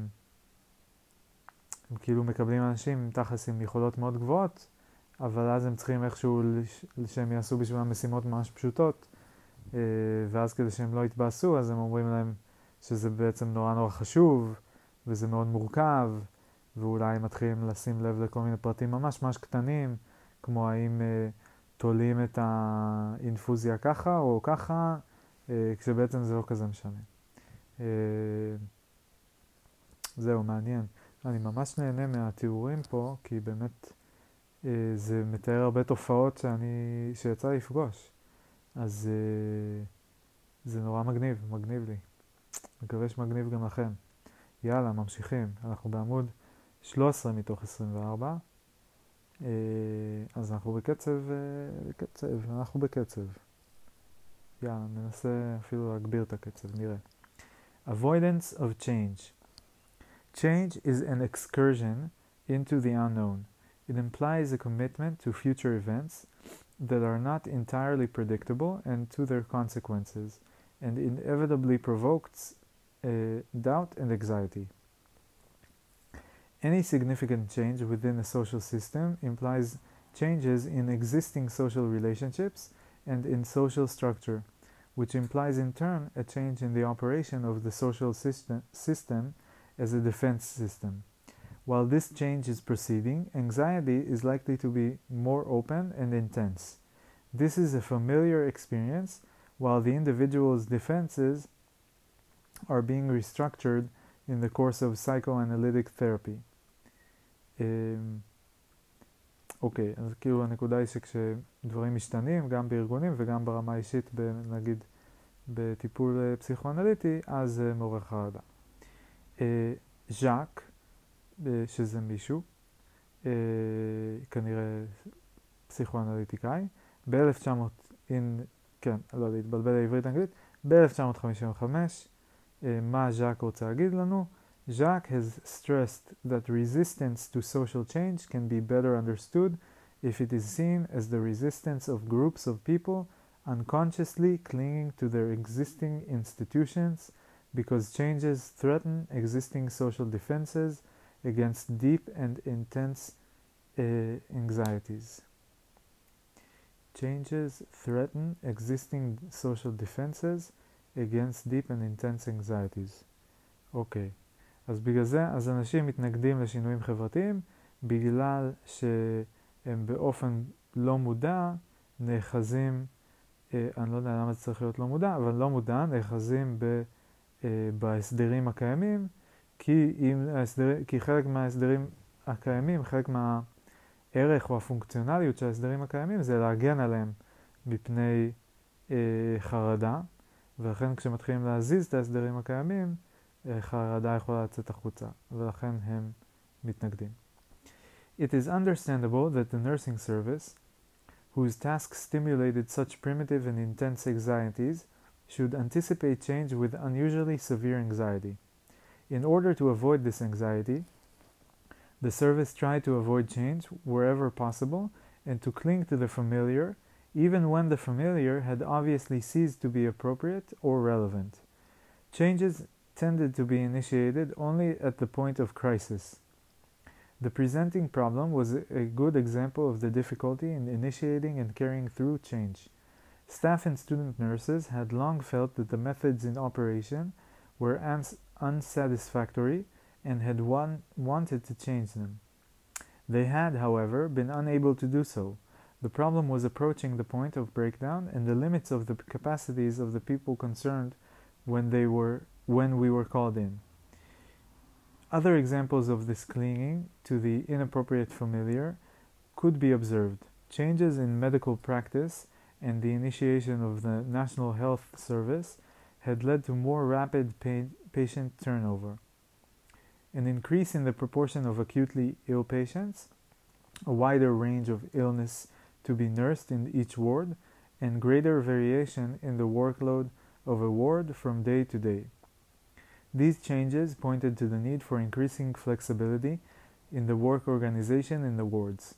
כאילו מקבלים אנשים עם תכלס עם יכולות מאוד גבוהות, אבל אז הם צריכים איכשהו שהם יעשו בשבילם משימות ממש פשוטות, ואז כדי שהם לא יתבאסו, אז הם אומרים להם שזה בעצם נורא נורא חשוב, וזה מאוד מורכב, ואולי הם מתחילים לשים לב לכל מיני פרטים ממש ממש קטנים, כמו האם תולים את האינפוזיה ככה או ככה, כשבעצם זה לא כזה משנה. זהו, מעניין. אני ממש נהנה מהתיאורים פה, כי באמת זה מתאר הרבה תופעות שאני, שיצא לפגוש. אז זה נורא מגניב, מגניב לי. מקווה שמגניב גם לכם. יאללה, ממשיכים. אנחנו בעמוד שלוש עשרה מתוך עשרים וארבע. אז אנחנו בקצב, בקצב, אנחנו בקצב. יאללה, ננסה אפילו להגביר את הקצב, נראה. Avoidance of change. Change is an excursion into the unknown. It implies a commitment to future events that are not entirely predictable and to their consequences, and inevitably provokes uh, doubt and anxiety. Any significant change within a social system implies changes in existing social relationships and in social structure, which implies in turn a change in the operation of the social system, system as a defense system. While this change is proceeding, anxiety is likely to be more open and intense. This is a familiar experience, while the individual's defenses are being restructured in the course of psychoanalytic therapy. אוקיי, אז כאילו הנקודה היא שכשדברים משתנים, גם בארגונים וגם ברמה האישית, נגיד בטיפול פסיכואנליטי, אז זה מעורר חרדה. ז'אק, שזה מישהו, כנראה פסיכואנליטיקאי, ב-אלף תשע מאות, כן, לא יודע, התבלבל העברית האנגלית, ב-אלף תשע מאות חמישים וחמש, מה ז'אק רוצה להגיד לנו? Jacques has stressed that resistance to social change can be better understood if it is seen as the resistance of groups of people unconsciously clinging to their existing institutions because changes threaten existing social defenses against deep and intense uh, anxieties. Changes threaten existing social defenses against deep and intense anxieties. אוקיי. אז בגלל זה, אז אנשים מתנגדים לשינויים חברתיים בגלל שהם באופן לא מודע נאחזים, אה, אני לא יודע למה זה צריך להיות לא מודע, אבל לא מודע נאחזים ב, אה, בהסדרים הקיימים, כי, אם ההסדר, כי חלק מההסדרים הקיימים, חלק מהערך או הפונקציונליות של ההסדרים הקיימים זה להגן עליהם מפני אה, חרדה, ולכן כשמתחילים להזיז את ההסדרים הקיימים, חרדה יכולה לצאת החוצה, ולכן הם מתנגדים. It is understandable that the nursing service, whose tasks stimulated such primitive and intense anxieties, should anticipate change with unusually severe anxiety. In order to avoid this anxiety, the service tried to avoid change wherever possible and to cling to the familiar, even when the familiar had obviously ceased to be appropriate or relevant. Changes tended to be initiated only at the point of crisis. The presenting problem was a good example of the difficulty in initiating and carrying through change. Staff and student nurses had long felt that the methods in operation were uns- unsatisfactory and had one- wanted to change them. They had, however, been unable to do so. The problem was approaching the point of breakdown and the limits of the capacities of the people concerned when they were when we were called in. Other examples of this clinging to the inappropriate familiar could be observed. Changes in medical practice and the initiation of the National Health Service had led to more rapid pa- patient turnover. An increase in the proportion of acutely ill patients, a wider range of illness to be nursed in each ward, and greater variation in the workload of a ward from day to day. These changes pointed to the need for increasing flexibility in the work organization in the wards.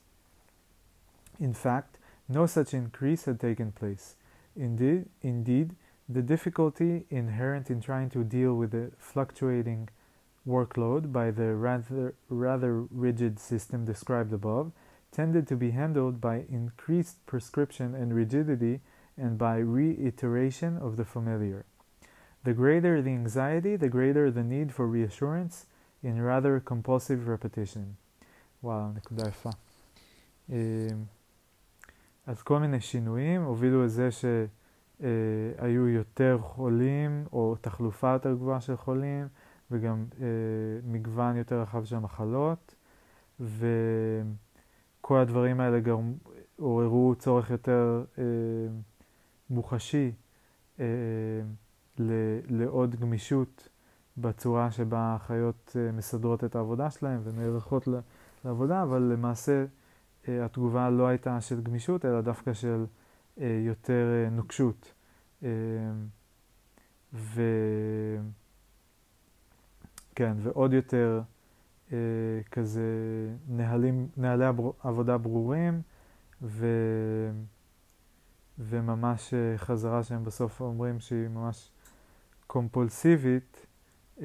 In fact, no such increase had taken place. Indeed, indeed, the difficulty inherent in trying to deal with the fluctuating workload by the rather, rather rigid system described above tended to be handled by increased prescription and rigidity and by reiteration of the familiar. The greater the anxiety, the greater the need for reassurance in rather compulsive repetition. וואו, נקודה יפה. אז כל מיני שינויים הובילו לזה שהיו יותר חולים או תחלופה יותר גבוהה של חולים וגם מגוון יותר רחב של מחלות, וכל הדברים האלה גם עוררו צורך יותר מוחשי לעוד גמישות בצורה שבה החיות מסדרות את העבודה שלהם ונערכות לעבודה, אבל למעשה התגובה לא הייתה של גמישות, אלא דווקא של יותר נוקשות. ו... כן, ועוד יותר כזה נהלים, נהלי עבודה ברורים, ו... וממש חזרה שהם בסוף אומרים שהיא ממש קומפולסיבית אה,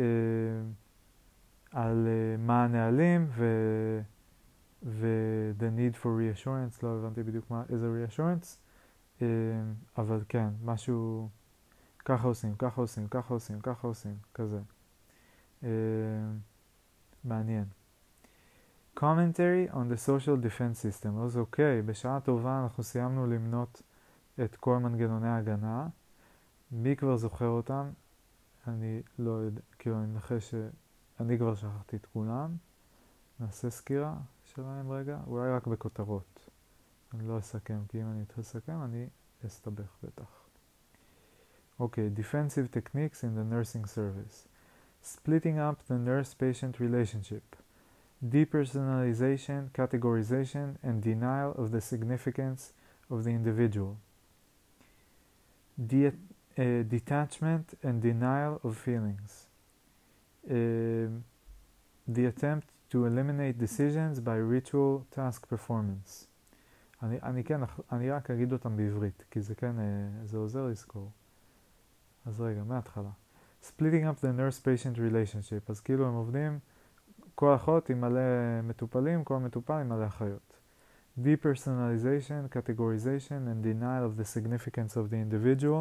על אה, מה הנהלים ו... ו- the need for reassurance, לא הבנתי בדיוק מה, איזה reassurance, אה, אבל כן, משהו, ככה עושים, ככה עושים, ככה עושים, ככה עושים, כזה. אה, מעניין. Commentary on the social defense system. אז אוקיי, בשעה טובה אנחנו סיימנו למנות את כל מנגנוני ההגנה. מי כבר זוכר אותם? אני לא יודע, כאילו אני מנחש שאני כבר שכחתי את כולם. נעשה סקירה שלהם רגע, אולי רק בכותרות. אני לא אסכם, כי אם אני אתחיל לסכם אני אסתבך בטח. אוקיי, defensive techniques in the nursing service. Splitting up the nurse-patient relationship. Depersonalization, categorization, and denial of the significance of the individual. De- uh, detachment and denial of feelings. Uh, the attempt to eliminate decisions by ritual task performance. אני, אני כן, אני רק אגיד אותם בעברית, כי זה כן, זה עוזר לזכור. אז רגע, מההתחלה. Splitting up the nurse-patient relationship. אז כאילו הם עובדים, כל אחות עם מלא מטופלים, כל מטופל עם מלא אחיות. Depersonalization, categorization, and denial of the significance of the individual.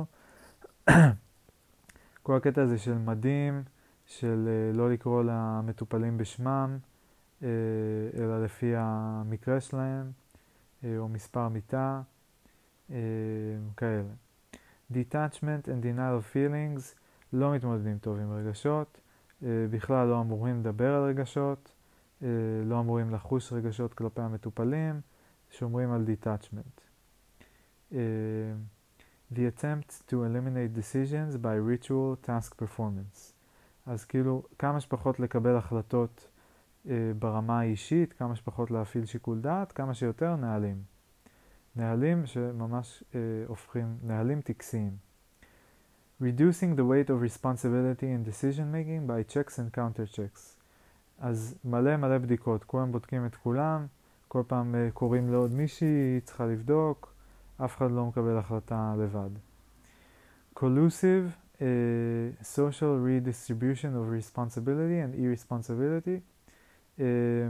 כל הקטע הזה של מדים, של uh, לא לקרוא למטופלים בשמם, uh, אלא לפי המקרה שלהם, uh, או מספר מיטה, uh, כאלה. Detachment and denial of feelings, לא מתמודדים טוב עם רגשות, uh, בכלל לא אמורים לדבר על רגשות, uh, לא אמורים לחוש רגשות כלפי המטופלים, שומרים על detachment. Uh, the attempt to eliminate decisions by ritual task performance. אז כאילו כמה שפחות לקבל החלטות uh, ברמה האישית, כמה שפחות להפעיל שיקול דעת, כמה שיותר נהלים. נהלים שממש uh, הופכים, נהלים טקסיים. Reducing the weight of responsibility in decision making by checks and counter checks. אז מלא מלא בדיקות, כולם בודקים את כולם, כל פעם uh, קוראים לעוד מישהי, היא צריכה לבדוק, אף אחד לא מקבל החלטה לבד. Collusive uh, social redistribution of responsibility and irresponsibility. Uh,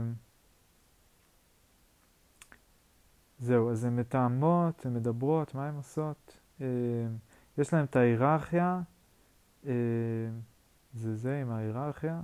זהו, אז הן מתאמות, הן מדברות, מה הן עושות? Uh, יש להם את ההיררכיה, uh, זה זה עם ההיררכיה.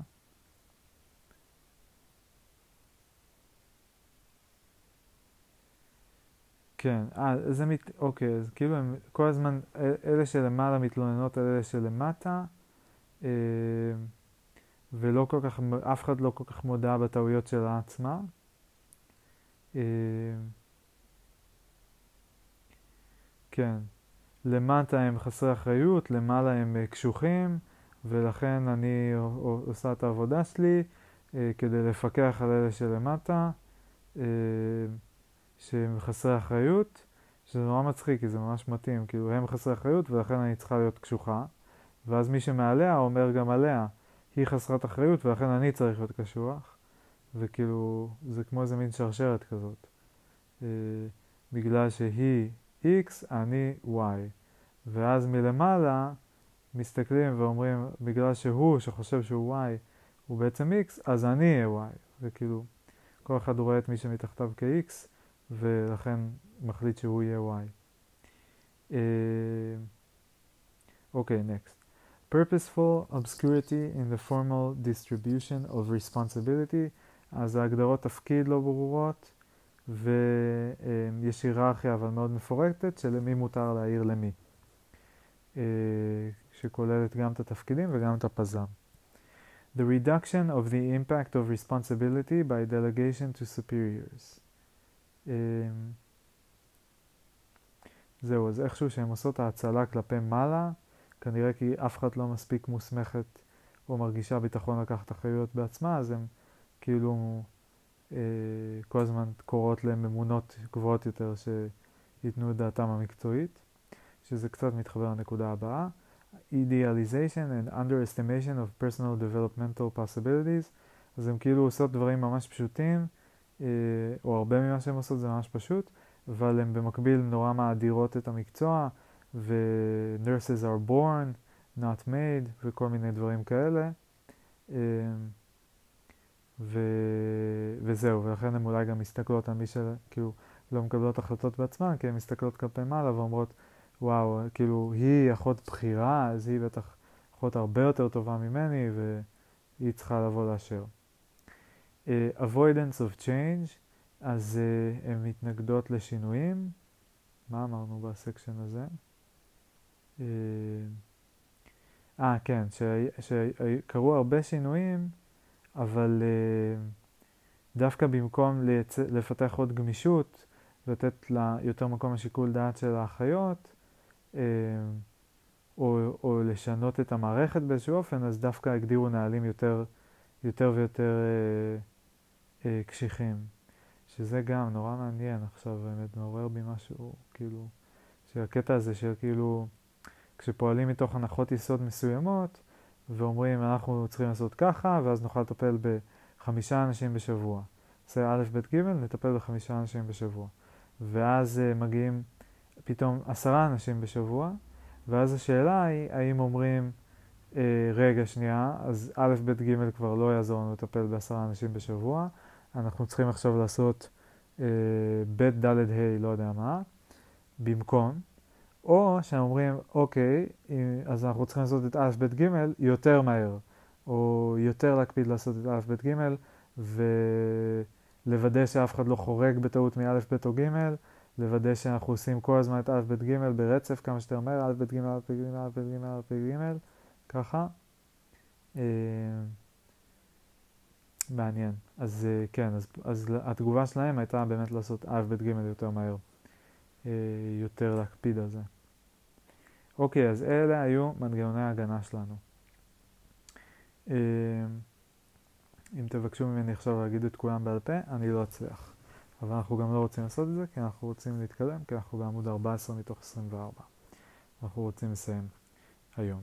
כן, אה, זה מת... אוקיי, אז כאילו הם כל הזמן, אלה שלמעלה מתלוננות על אלה שלמטה, אה, ולא כל כך, אף אחד לא כל כך מודע בטעויות שלה עצמה. אה, כן, למטה הם חסרי אחריות, למעלה הם קשוחים, ולכן אני עושה את העבודה שלי אה, כדי לפקח על אלה שלמטה. אה, שהם חסרי אחריות, שזה נורא מצחיק, כי זה ממש מתאים, כאילו הם חסרי אחריות ולכן אני צריכה להיות קשוחה, ואז מי שמעליה אומר גם עליה, היא חסרת אחריות ולכן אני צריך להיות קשוח, וכאילו זה כמו איזה מין שרשרת כזאת. אה, בגלל שהיא X, אני Y. ואז מלמעלה מסתכלים ואומרים, בגלל שהוא שחושב שהוא Y הוא בעצם X, אז אני אהיה Y. וכאילו כל אחד רואה את מי שמתחתיו כ-X, ולכן מחליט שהוא יהיה Y. אוקיי, uh, okay, next. Purposeful obscurity in the formal distribution of responsibility. אז ההגדרות תפקיד לא ברורות, ויש היררכיה אבל מאוד מפורטת של מי מותר להעיר למי. Uh, שכוללת גם את התפקידים וגם את הפזם. The reduction of the impact of responsibility by delegation to superiors. Um, זהו, אז איכשהו שהן עושות ההצלה כלפי מעלה, כנראה כי אף אחד לא מספיק מוסמכת או מרגישה ביטחון לקחת אחריות בעצמה, אז הם כאילו אה, כל הזמן קוראות להם ממונות גבוהות יותר שייתנו את דעתם המקצועית, שזה קצת מתחבר לנקודה הבאה. Idealization and underestimation of personal developmental possibilities. אז הם כאילו עושות דברים ממש פשוטים, אה, או הרבה ממה שהם עושות זה ממש פשוט, אבל הם במקביל נורא מאדירות את המקצוע, ו-nurses are born, not made, וכל מיני דברים כאלה. אה, ו- וזהו, ולכן הן אולי גם מסתכלות על מי שכאילו לא מקבלות החלטות בעצמן, כי הן מסתכלות כלפי מעלה ואומרות, וואו, כאילו היא אחות בחירה, אז היא בטח אחות הרבה יותר טובה ממני, והיא צריכה לבוא לאשר. Uh, avoidance of change, אז uh, הן מתנגדות לשינויים. מה אמרנו בסקשן הזה? אה, uh, uh, כן, שקרו הרבה שינויים, אבל uh, דווקא במקום לייצ... לפתח עוד גמישות, לתת לה יותר מקום לשיקול דעת של האחיות, uh, או, או לשנות את המערכת באיזשהו אופן, אז דווקא הגדירו נהלים יותר, יותר ויותר uh, uh, קשיחים. שזה גם נורא מעניין עכשיו, באמת מעורר בי משהו, כאילו, שהקטע הזה של כאילו, כשפועלים מתוך הנחות יסוד מסוימות, ואומרים אנחנו צריכים לעשות ככה, ואז נוכל לטפל בחמישה אנשים בשבוע. זה א' ב' ג', נטפל בחמישה אנשים בשבוע. ואז uh, מגיעים פתאום עשרה אנשים בשבוע, ואז השאלה היא, האם אומרים, uh, רגע שנייה, אז א' ב' ג' כבר לא יעזור לנו לטפל בעשרה אנשים בשבוע, אנחנו צריכים עכשיו לעשות uh, ב' ד' ה' לא יודע מה, במקום, או שהם אומרים, אוקיי, אז אנחנו צריכים לעשות את א' ב' ג' יותר מהר, או יותר להקפיד לעשות את א' ב' ג' ולוודא שאף אחד לא חורג בטעות מא' ב' או ג', לוודא שאנחנו עושים כל הזמן את א' ב' ג' ברצף כמה שיותר מהר, א' ב' ג' א' ב' ג' א' ב' ג' א' ב' ג', ככה. מעניין. אז כן, אז, אז התגובה שלהם הייתה באמת לעשות א' ב' ג' יותר מהר, יותר להקפיד על זה. אוקיי, אז אלה היו מנגנוני ההגנה שלנו. אם תבקשו ממני עכשיו להגיד את כולם בעל פה, אני לא אצליח. אבל אנחנו גם לא רוצים לעשות את זה, כי אנחנו רוצים להתקדם, כי אנחנו בעמוד ארבע עשרה מתוך עשרים וארבע. אנחנו רוצים לסיים היום.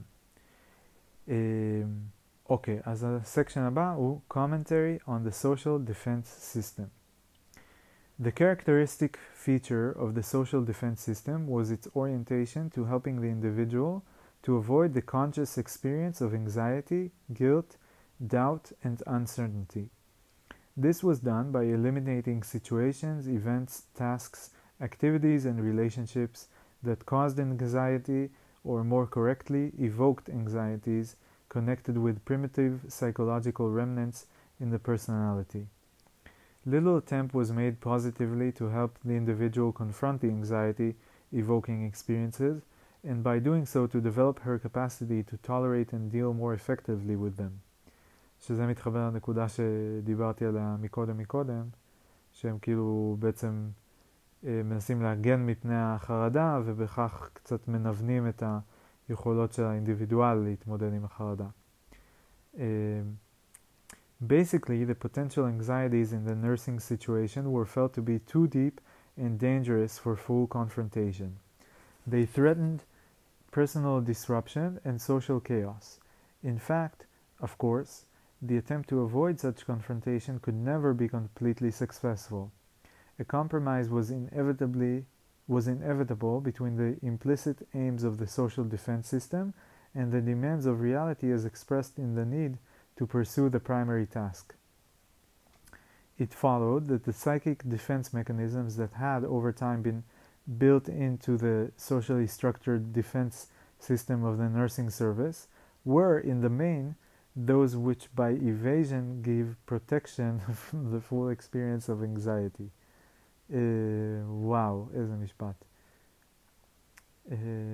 אוקיי, אז הסקשן הבא הוא Commentary on the Social Defense System. The characteristic feature of the social defense system was its orientation to helping the individual to avoid the conscious experience of anxiety, guilt, doubt, and uncertainty. This was done by eliminating situations, events, tasks, activities, and relationships that caused anxiety, or more correctly, evoked anxieties connected with primitive psychological remnants in the personality. Little attempt was made positively to help the individual confront the anxiety-evoking experiences, and by doing so to develop her capacity to tolerate and deal more effectively with them. שזה מתחבר לנקודה שדיברתי עליה מקודם מקודם, שהם כאילו בעצם אה, מנסים להגן מפני החרדה, ובכך קצת מנוונים את היכולות של האינדיבידואל להתמודד עם החרדה. אה, Basically, the potential anxieties in the nursing situation were felt to be too deep and dangerous for full confrontation. They threatened personal disruption and social chaos. In fact, of course, the attempt to avoid such confrontation could never be completely successful. A compromise was inevitably was inevitable between the implicit aims of the social defense system and the demands of reality as expressed in the need to pursue the primary task. It followed that the psychic defense mechanisms that had over time been built into the socially structured defense system of the nursing service were, in the main, those which by evasion gave protection from the full experience of anxiety. Uh, wow, איזה משפט. Uh,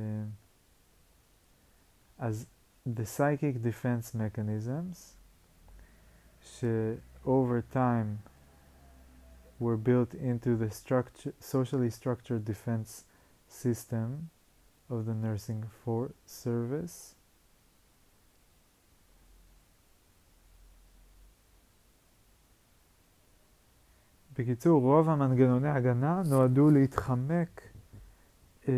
as the psychic defense mechanisms sh- over time were built into the structure, socially structured defense system of the nursing for service. בקיצור, רוב המנגנוני הגנה נועדו להתחמק, אה,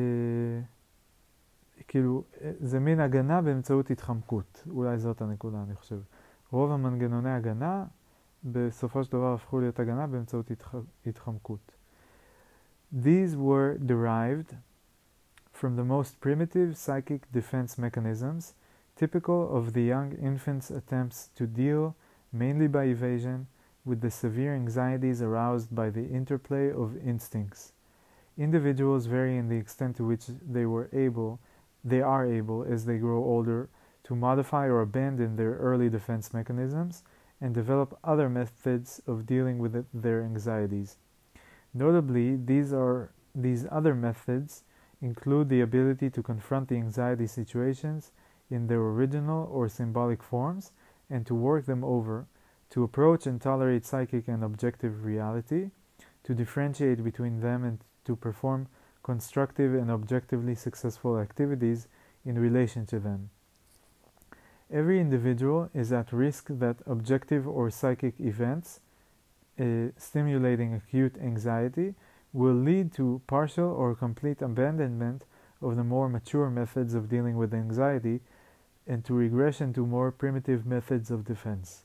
כאילו, זה מין הגנה באמצעות התחמקות. אולי זאת הנקודה, אני חושב. רוב המנגנוני הגנה, בסופו של דבר הפכו להיות הגנה באמצעות התח... התחמקות. These were derived from the most primitive psychic defense mechanisms, typical of the young infant's attempts to deal, mainly by evasion, with the severe anxieties aroused by the interplay of instincts. Individuals vary in the extent to which they were able, they are able, as they grow older, to modify or abandon their early defense mechanisms and develop other methods of dealing with it, their anxieties. Notably, these are these other methods include the ability to confront the anxiety situations in their original or symbolic forms and to work them over, to approach and tolerate psychic and objective reality, to differentiate between them and to perform constructive and objectively successful activities in relation to them. Every individual is at risk that objective or psychic events uh, stimulating acute anxiety will lead to partial or complete abandonment of the more mature methods of dealing with anxiety and to regression to more primitive methods of defense.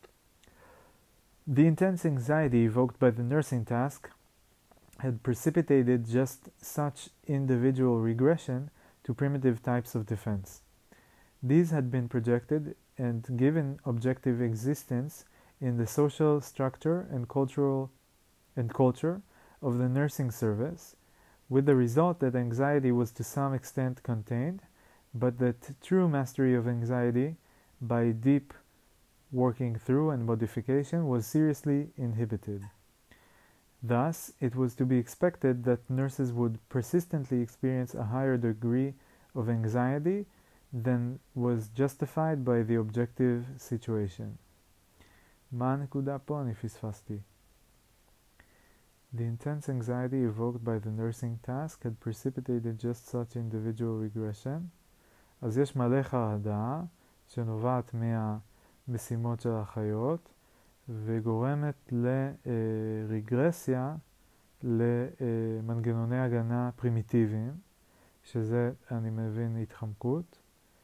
The intense anxiety evoked by the nursing task had precipitated just such individual regression to primitive types of defense. These had been projected and given objective existence in the social structure and cultural and culture of the nursing service, with the result that anxiety was to some extent contained, but that true mastery of anxiety by deep working through and modification was seriously inhibited. Thus, it was to be expected that nurses would persistently experience a higher degree of anxiety than was justified by the objective situation. מה הנקודה פה? אני פספסתי. The intense anxiety evoked by the nursing task had precipitated just such individual regression. אז יש מלא חרדה שנובעת מהמשימות של האחיות וגורמת לרגרסיה למנגנוני הגנה פרימיטיביים, שזה אני מבין התחמקות.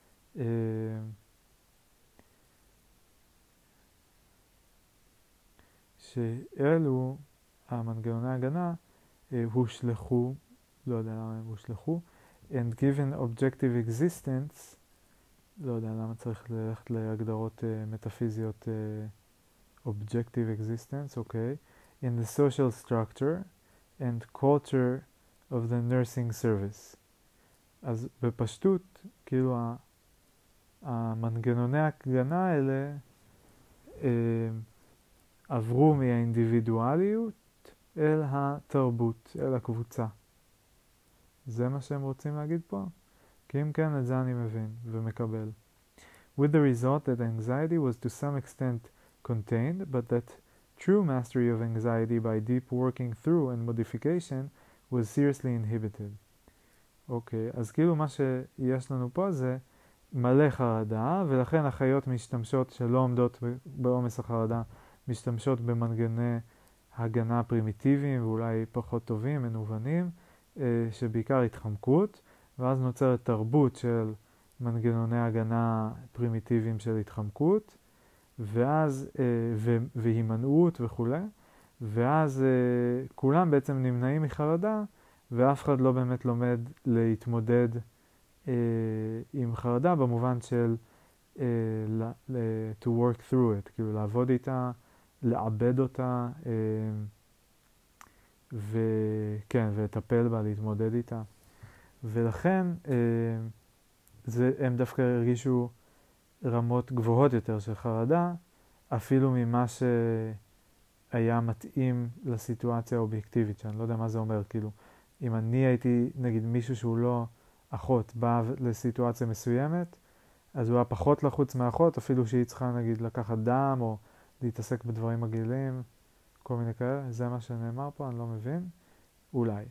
שאלו המנגנוני ההגנה הושלחו, לא יודע למה הם הושלחו, and given objective existence, לא יודע למה צריך ללכת להגדרות uh, מטאפיזיות uh, objective existence, אוקיי, okay, in the social structure and culture of the nursing service. אז בפשטות, כאילו המנגנוני ההגנה האלה uh, עברו מהאינדיבידואליות אל התרבות, אל הקבוצה. זה מה שהם רוצים להגיד פה? כי אם כן, את זה אני מבין ומקבל. With the result that anxiety was to some extent contained, but that true mastery of anxiety by deep working through and modification was seriously inhibited. אוקיי, אז כאילו מה שיש לנו פה זה מלא חרדה, ולכן החיות משתמשות שלא עומדות בעומס החרדה, משתמשות במנגני הגנה פרימיטיביים ואולי פחות טובים, מנוונים, שבעיקר התחמקות, ואז נוצרת תרבות של מנגנוני הגנה פרימיטיביים של התחמקות, ואז, והימנעות וכו', ואז כולם בעצם נמנעים מחרדה, ואף אחד לא באמת לומד להתמודד עם חרדה במובן של to work through it, כאילו לעבוד איתה, לעבד אותה, וכן, ולטפל בה, להתמודד איתה. ולכן זה, הם דווקא הרגישו רמות גבוהות יותר של חרדה, אפילו ממה שהיה מתאים לסיטואציה האובייקטיבית, שאני לא יודע מה זה אומר, כאילו, אם אני הייתי, נגיד, מישהו שהוא לא אחות, בא לסיטואציה מסוימת, אז הוא היה פחות לחוץ מאחות, אפילו שהיא צריכה, נגיד, לקחת דם, או להתעסק בדברים מגעילים, כל מיני כאלה. זה מה שנאמר פה, אני לא מבין. אולי.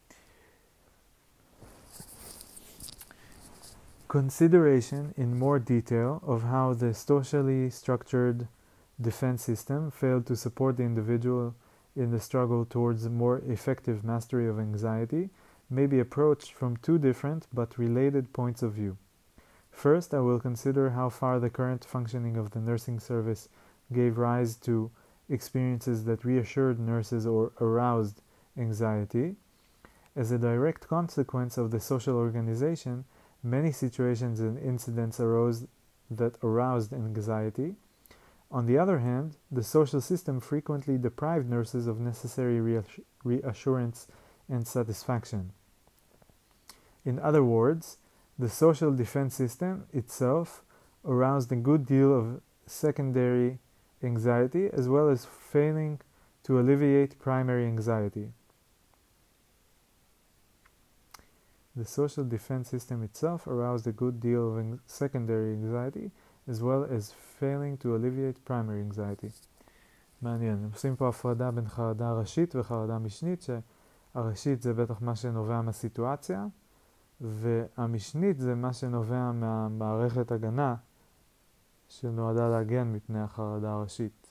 Consideration in more detail of how the socially structured defense system failed to support the individual in the struggle towards more effective mastery of anxiety may be approached from two different but related points of view. First, I will consider how far the current functioning of the nursing service gave rise to experiences that reassured nurses or aroused anxiety. As a direct consequence of the social organization, many situations and incidents arose that aroused anxiety. On the other hand, the social system frequently deprived nurses of necessary reass- reassurance and satisfaction. In other words, the social defense system itself aroused a good deal of secondary anxiety as well as failing to alleviate primary anxiety. The social defense system itself aroused a good deal of ang- secondary anxiety as well as failing to alleviate primary anxiety. מעניין, הם עושים פה הפרדה בין חרדה ראשית וחרדה משנית, שהראשית זה בטח מה שנובע מהסיטואציה, והמשנית זה מה שנובע מהמערכת הגנה שנועדה להגן מפני החרדה הראשית.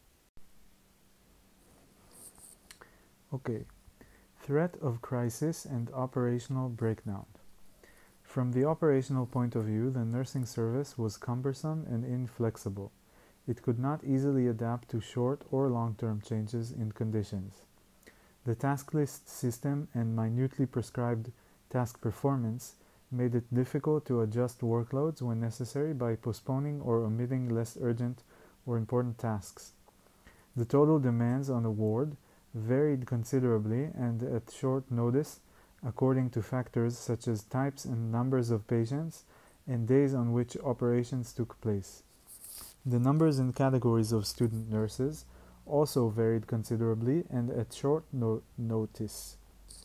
אוקיי. Threat of crisis and operational breakdown. From the operational point of view, the nursing service was cumbersome and inflexible. It could not easily adapt to short or long-term changes in conditions. The task list system and minutely prescribed task performance made it difficult to adjust workloads when necessary by postponing or omitting less urgent or important tasks. The total demands on a ward varied considerably and at short notice according to factors such as types and numbers of patients and days on which operations took place. The numbers and categories of student nurses also varied considerably and at short no- notice.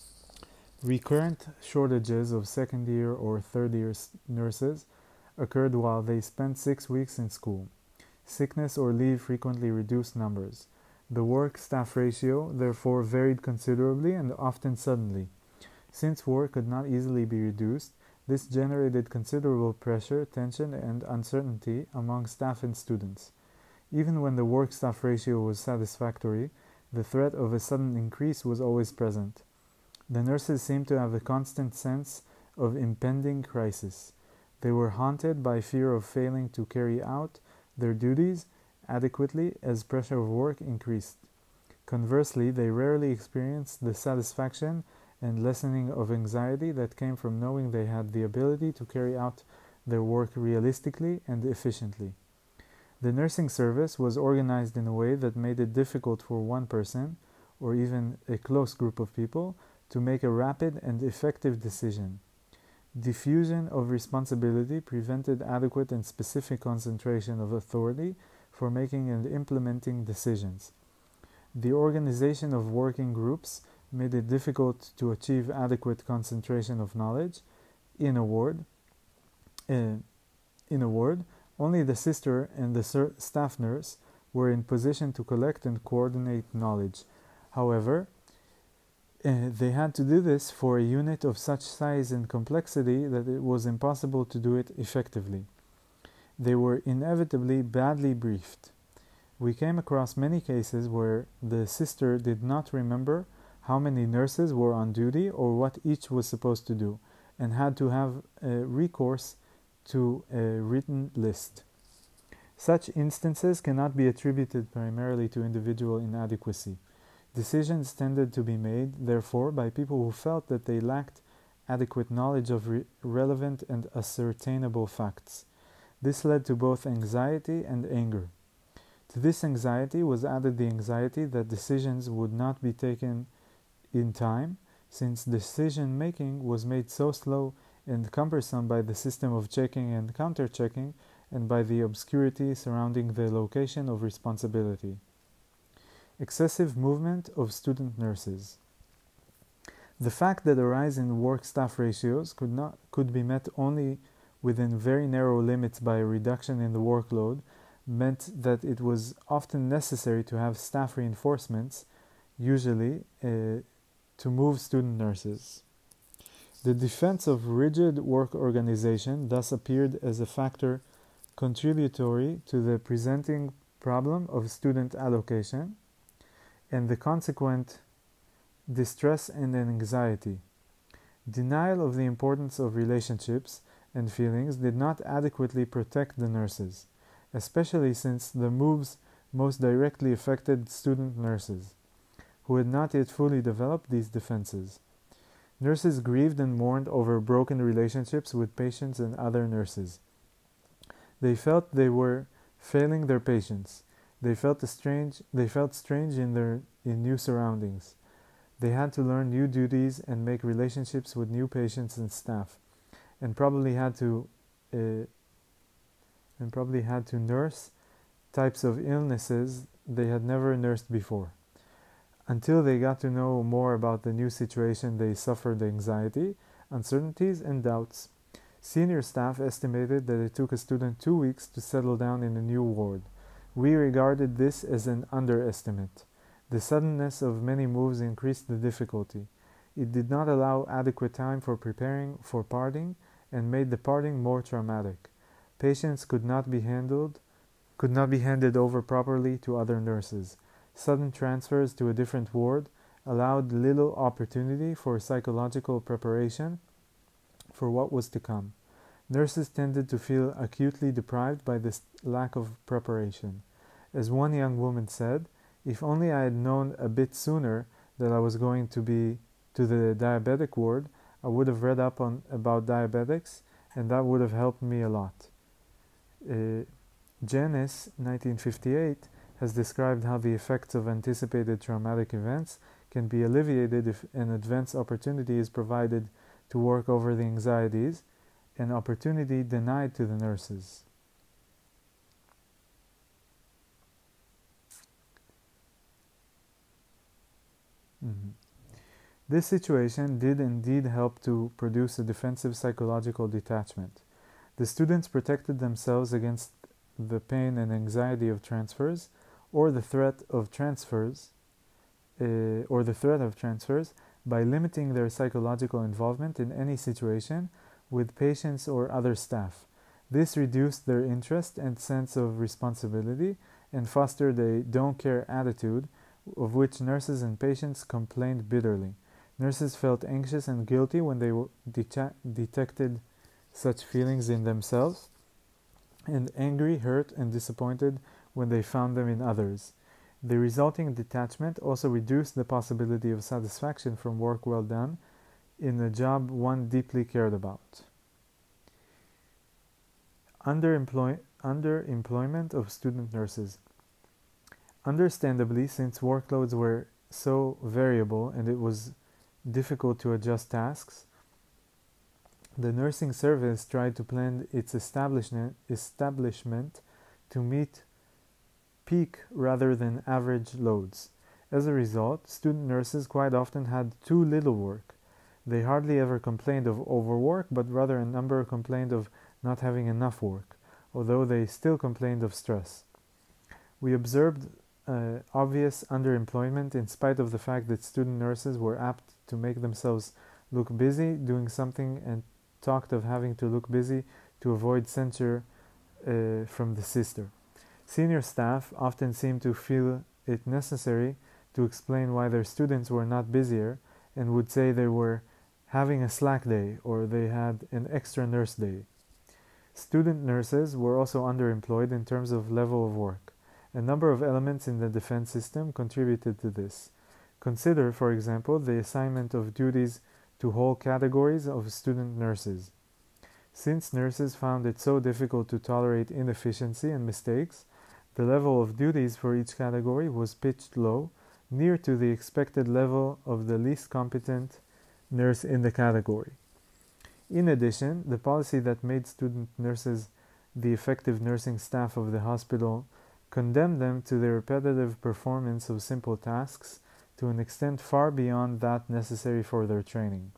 Recurrent shortages of second year or third year nurses occurred while they spent six weeks in school. Sickness or leave frequently reduced numbers. The work-staff ratio, therefore, varied considerably and often suddenly. Since work could not easily be reduced, this generated considerable pressure, tension, and uncertainty among staff and students. Even when the work-staff ratio was satisfactory, the threat of a sudden increase was always present. The nurses seemed to have a constant sense of impending crisis. They were haunted by fear of failing to carry out their duties adequately as pressure of work increased. Conversely, they rarely experienced the satisfaction and lessening of anxiety that came from knowing they had the ability to carry out their work realistically and efficiently. The nursing service was organized in a way that made it difficult for one person, or even a close group of people, to make a rapid and effective decision. Diffusion of responsibility prevented adequate and specific concentration of authority for making and implementing decisions. The organization of working groups made it difficult to achieve adequate concentration of knowledge. In a word, uh, in a word, only the sister and the ser- staff nurse were in position to collect and coordinate knowledge. However, uh, they had to do this for a unit of such size and complexity that it was impossible to do it effectively. They were inevitably badly briefed. We came across many cases where the sister did not remember how many nurses were on duty or what each was supposed to do, and had to have a recourse to a written list. Such instances cannot be attributed primarily to individual inadequacy. Decisions tended to be made, therefore, by people who felt that they lacked adequate knowledge of re- relevant and ascertainable facts. This led to both anxiety and anger. To this anxiety was added the anxiety that decisions would not be taken in time, since decision-making was made so slow and cumbersome by the system of checking and counter-checking and by the obscurity surrounding the location of responsibility. Excessive movement of student nurses. The fact that a rise in work-staff ratios could not could be met only within very narrow limits by a reduction in the workload meant that it was often necessary to have staff reinforcements, usually uh, to move student nurses. The defense of rigid work organization thus appeared as a factor contributory to the presenting problem of student allocation. and the consequent distress and anxiety. Denial of the importance of relationships and feelings did not adequately protect the nurses, especially since the moves most directly affected student nurses, who had not yet fully developed these defenses. Nurses grieved and mourned over broken relationships with patients and other nurses. They felt they were failing their patients. They felt strange. They felt strange in their in new surroundings. They had to learn new duties and make relationships with new patients and staff, and probably had to uh, and probably had to nurse types of illnesses they had never nursed before. Until they got to know more about the new situation, they suffered anxiety, uncertainties, and doubts. Senior staff estimated that it took a student two weeks to settle down in a new ward. We regarded this as an underestimate. The suddenness of many moves increased the difficulty. It did not allow adequate time for preparing for parting and made the parting more traumatic. Patients could not be handled, could not be handed over properly to other nurses. Sudden transfers to a different ward allowed little opportunity for psychological preparation for what was to come. Nurses tended to feel acutely deprived by this lack of preparation. As one young woman said, "If only I had known a bit sooner that I was going to be to the diabetic ward, I would have read up on about diabetics, and that would have helped me a lot." Uh, Janis, nineteen fifty-eight, has described how the effects of anticipated traumatic events can be alleviated if an advance opportunity is provided to work over the anxieties, an opportunity denied to the nurses. Mm-hmm. This situation did indeed help to produce a defensive psychological detachment. The students protected themselves against the pain and anxiety of transfers, or the threat of transfers, uh, or the threat of transfers, by limiting their psychological involvement in any situation with patients or other staff. This reduced their interest and sense of responsibility and fostered a don't care attitude, of which nurses and patients complained bitterly. Nurses felt anxious and guilty when they de- detected such feelings in themselves, and angry, hurt, and disappointed when they found them in others. The resulting detachment also reduced the possibility of satisfaction from work well done in a job one deeply cared about. Underemploy- underemployment of student nurses. Understandably, since workloads were so variable and it was difficult to adjust tasks, the nursing service tried to plan its establishment, establishment to meet peak rather than average loads. As a result, student nurses quite often had too little work. They hardly ever complained of overwork, but rather a number complained of not having enough work, although they still complained of stress. We observed uh, obvious underemployment in spite of the fact that student nurses were apt to make themselves look busy doing something and talked of having to look busy to avoid censure uh, from the sister. Senior staff often seemed to feel it necessary to explain why their students were not busier and would say they were having a slack day or they had an extra nurse day. Student nurses were also underemployed in terms of level of work. A number of elements in the defense system contributed to this. Consider, for example, the assignment of duties to whole categories of student nurses. Since nurses found it so difficult to tolerate inefficiency and mistakes, the level of duties for each category was pitched low, near to the expected level of the least competent nurse in the category. In addition, the policy that made student nurses the effective nursing staff of the hospital condemned them to the repetitive performance of simple tasks to an extent far beyond that necessary for their training.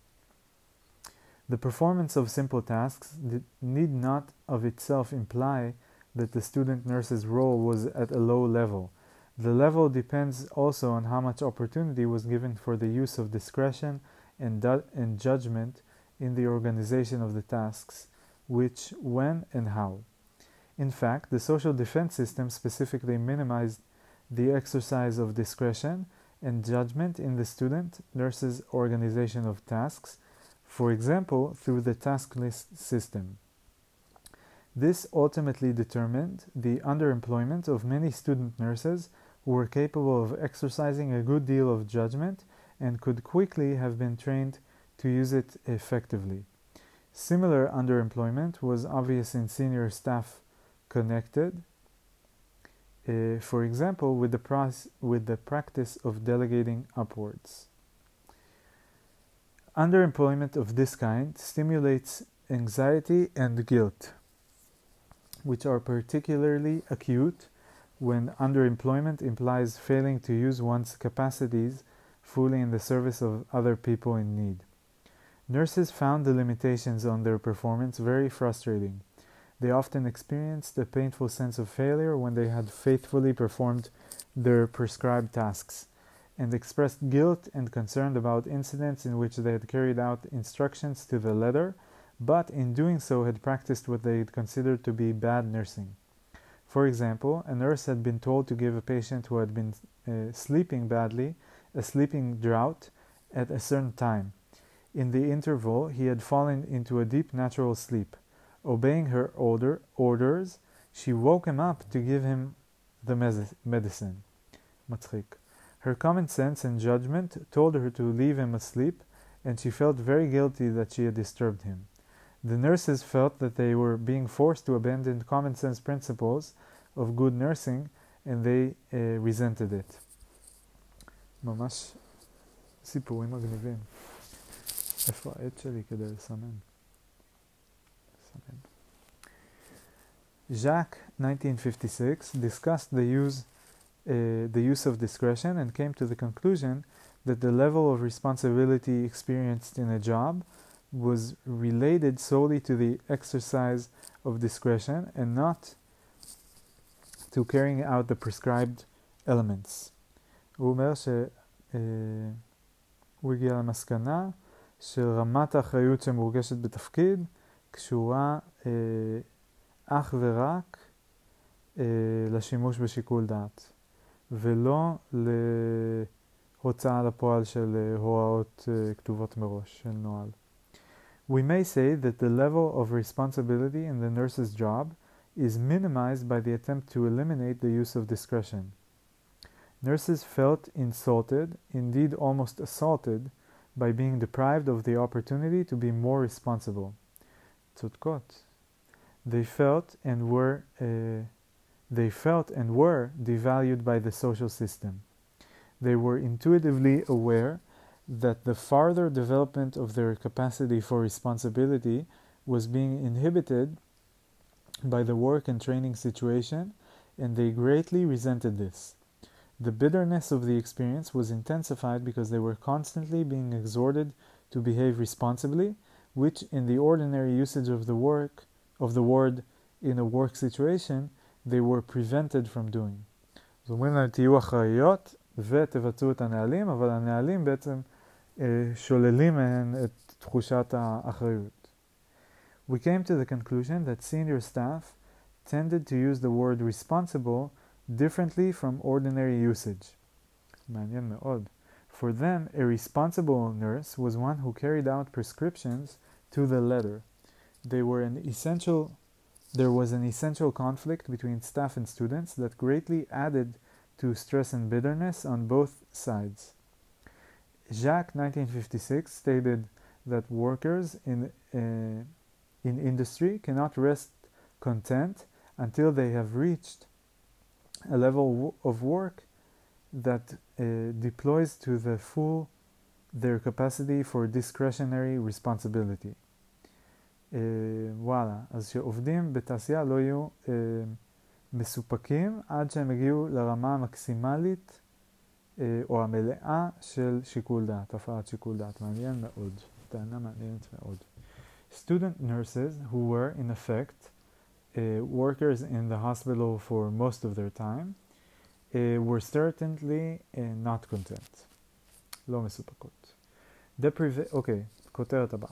The performance of simple tasks need not of itself imply that the student nurse's role was at a low level. The level depends also on how much opportunity was given for the use of discretion and, du- and judgment in the organization of the tasks, which, when, and how. In fact, the social defense system specifically minimized the exercise of discretion and judgment in the student nurse's organization of tasks, for example, through the task list system. This ultimately determined the underemployment of many student nurses who were capable of exercising a good deal of judgment and could quickly have been trained to use it effectively. Similar underemployment was obvious in senior staff connected, uh, for example, with the, pros- with the practice of delegating upwards. Underemployment of this kind stimulates anxiety and guilt, which are particularly acute when underemployment implies failing to use one's capacities fully in the service of other people in need. Nurses found the limitations on their performance very frustrating. They often experienced a painful sense of failure when they had faithfully performed their prescribed tasks, and expressed guilt and concern about incidents in which they had carried out instructions to the letter, but in doing so had practiced what they had considered to be bad nursing. For example, a nurse had been told to give a patient who had been uh, sleeping badly a sleeping draught at a certain time. In the interval, he had fallen into a deep natural sleep. Obeying her order, orders, she woke him up to give him the medicine. Matchik. Her common sense and judgment told her to leave him asleep, and she felt very guilty that she had disturbed him. The nurses felt that they were being forced to abandon common sense principles of good nursing, and they uh, resented it. ממש סיפורים מגניבים. איפה העט שלי כדי לסמן? לסמן. Jacques, nineteen fifty-six, discussed the use, uh, the use of discretion and came to the conclusion that the level of responsibility experienced in a job was related solely to the exercise of discretion and not to carrying out the prescribed elements. הוא אומר שהוא הגיע למסקנה שרמת האחריות שמורגשת בתפקיד קשורה אה, אך ורק אה, לשימוש בשיקול דעת ולא להוצאה לפועל של אה, הוראות אה, כתובות מראש של נוהל. We may say that the level of responsibility in the nurse's job is minimized by the attempt to eliminate the use of discretion. Nurses felt insulted, indeed almost assaulted, by being deprived of the opportunity to be more responsible. צודקות. They felt and were uh, they felt and were devalued by the social system. They were intuitively aware that the farther development of their capacity for responsibility was being inhibited by the work and training situation, and they greatly resented this. The bitterness of the experience was intensified because they were constantly being exhorted to behave responsibly, which in the ordinary usage of the work of the word in a work situation, they were prevented from doing. זאת אומרת, תהיו אחראיות ותבצעו את הנהלים, אבל הנהלים בעצם שוללים מהן את תחושת האחריות. We came to the conclusion that senior staff tended to use the word responsible differently from ordinary usage. מעניין מאוד. For them, a responsible nurse was one who carried out prescriptions to the letter. They were an essential, there was an essential conflict between staff and students that greatly added to stress and bitterness on both sides. Jacques, nineteen fifty-six, stated that workers in, uh, in industry cannot rest content until they have reached a level of work that uh, deploys to the full their capacity for discretionary responsibility. Uh, וואלה, אז שעובדים בתעשייה לא יהיו uh, מסופקים עד שהם הגיעו לרמה המקסימלית uh, או המלאה של שיקול דעת, הפעלת שיקול דעת. מעניין מאוד, טענה מעניינת מאוד. Student nurses who were in effect uh, workers in the hospital for most of their time uh, were certainly uh, not content. לא מסופקות. אוקיי, כותרת הבאה.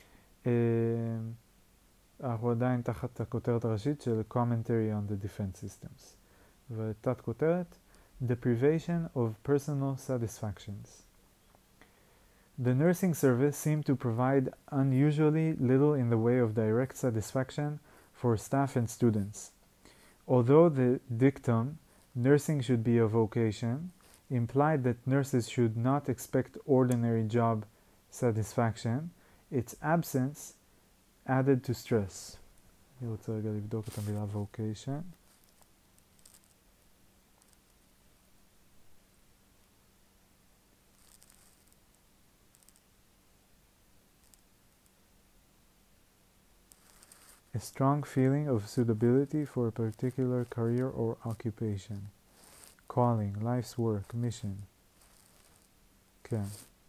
אנחנו עדיין תחת הכותרת הראשית של Commentary on the Defense Systems. ותת כותרת, deprivation of personal satisfactions. The nursing service seemed to provide unusually little in the way of direct satisfaction for staff and students. Although the dictum, nursing should be a vocation, implied that nurses should not expect ordinary job satisfaction, its absence added to stress. אני רוצה רגע לבדוק את המילה vocation. A strong feeling of suitability for a particular career or occupation. Calling, life's work, mission. כן.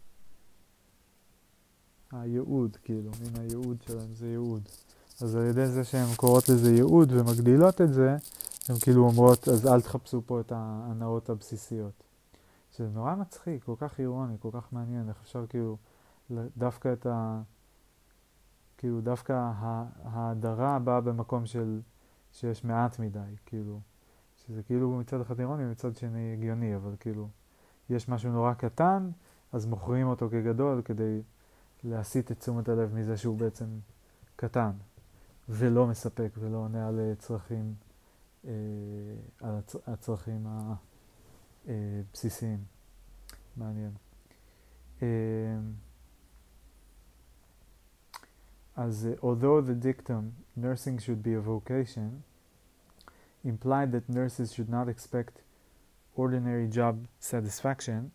הייעוד, כאילו, מן הייעוד שלהם זה ייעוד. אז על ידי זה שהן קוראות לזה ייעוד ומגדילות את זה, הן כאילו אומרות, אז אל תחפשו פה את ההנאות הבסיסיות. שזה נורא מצחיק, כל כך אירוני, כל כך מעניין, איך אפשר כאילו, דווקא את ה... כאילו דווקא ההדרה באה במקום של שיש מעט מדי, כאילו, שזה כאילו מצד אחד אירוני ומצד שני הגיוני, אבל כאילו יש משהו נורא קטן, אז מוכרים אותו כגדול כדי להסיט את תשומת הלב מזה שהוא בעצם קטן ולא מספק ולא עונה על צרכים, אה, על הצ... הצרכים הבסיסיים. מעניין. אה, As uh, although the dictum, nursing should be a vocation, implied that nurses should not expect ordinary job satisfaction,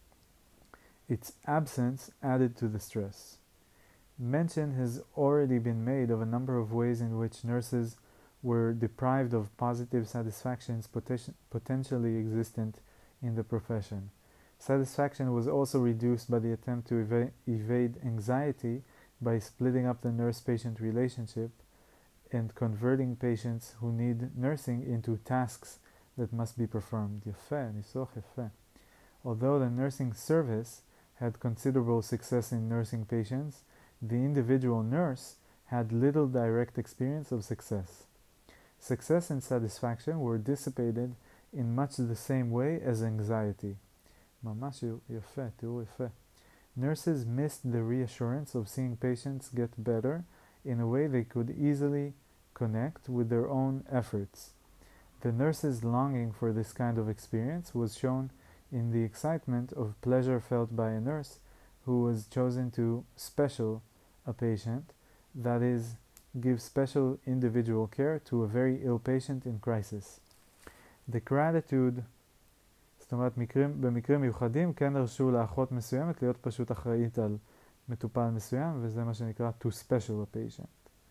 its absence added to the stress. Mention has already been made of a number of ways in which nurses were deprived of positive satisfactions poten- potentially existent in the profession. Satisfaction was also reduced by the attempt to eva- evade anxiety by splitting up the nurse-patient relationship and converting patients who need nursing into tasks that must be performed. יפה, ניסוח יפה. Although the nursing service had considerable success in nursing patients, the individual nurse had little direct experience of success. Success and satisfaction were dissipated in much the same way as anxiety. ממש יפה, תראו יפה. Nurses missed the reassurance of seeing patients get better in a way they could easily connect with their own efforts. The nurses' longing for this kind of experience was shown in the excitement of pleasure felt by a nurse who was chosen to special a patient, that is, give special individual care to a very ill patient in crisis. The gratitude זאת אומרת, מקרים, במקרים מיוחדים כן הרשו לאחות מסוימת להיות פשוט אחראית על מטופל מסוים, וזה מה שנקרא to special a patient.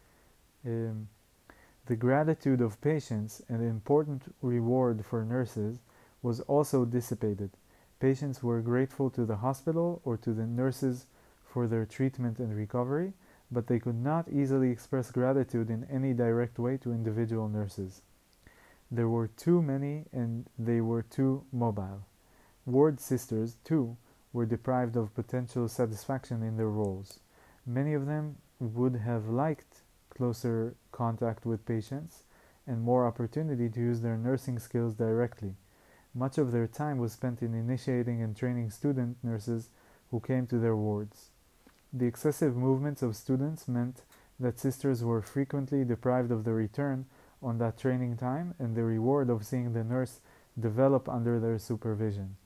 Um, the gratitude of patients, an important reward for nurses, was also dissipated. Patients were grateful to the hospital or to the nurses for their treatment and recovery, but they could not easily express gratitude in any direct way to individual nurses. There were too many and they were too mobile. Ward sisters, too, were deprived of potential satisfaction in their roles. Many of them would have liked closer contact with patients and more opportunity to use their nursing skills directly. Much of their time was spent in initiating and training student nurses who came to their wards. The excessive movements of students meant that sisters were frequently deprived of the return on that training time and the reward of seeing the nurse develop under their supervision.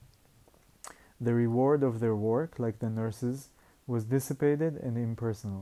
The reward of their work, like the nurses, was dissipated and impersonal.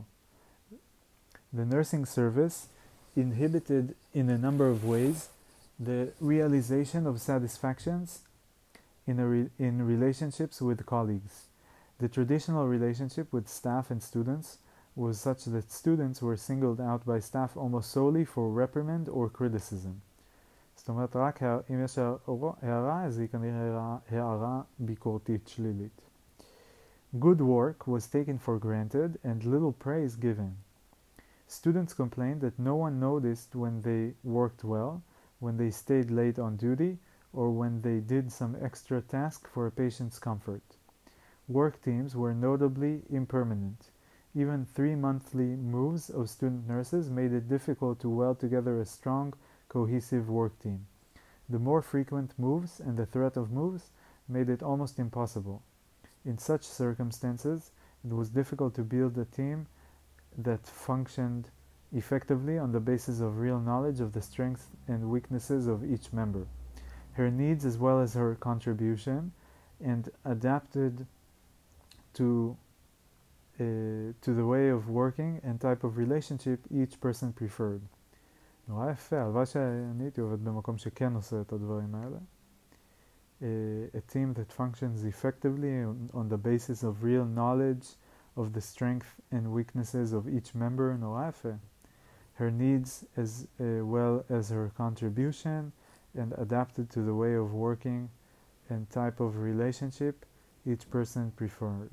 The nursing service inhibited in a number of ways the realization of satisfactions in, a re- in relationships with colleagues. The traditional relationship with staff and students was such that students were singled out by staff almost solely for reprimand or criticism. זאת אומרת, רק אם יש הערה, אז היא כנראה הערה ביקורתית שלילית. Good work was taken for granted and little praise given. Students complained that no one noticed when they worked well, when they stayed late on duty, or when they did some extra task for a patient's comfort. Work teams were notably impermanent. Even three monthly moves of student nurses made it difficult to weld together a strong, cohesive work team. The more frequent moves and the threat of moves made it almost impossible. In such circumstances, it was difficult to build a team that functioned effectively on the basis of real knowledge of the strengths and weaknesses of each member, her needs as well as her contribution, and adapted to uh, to the way of working and type of relationship each person preferred. נורא יפה, הלוואי שאני הייתי עובד במקום שכן עושה את הדברים האלה. A team that functions effectively on, on the basis of real knowledge of the strengths and weaknesses of each member, נורא יפה. Her needs as uh, well as her contribution, and adapted to the way of working and type of relationship each person preferred.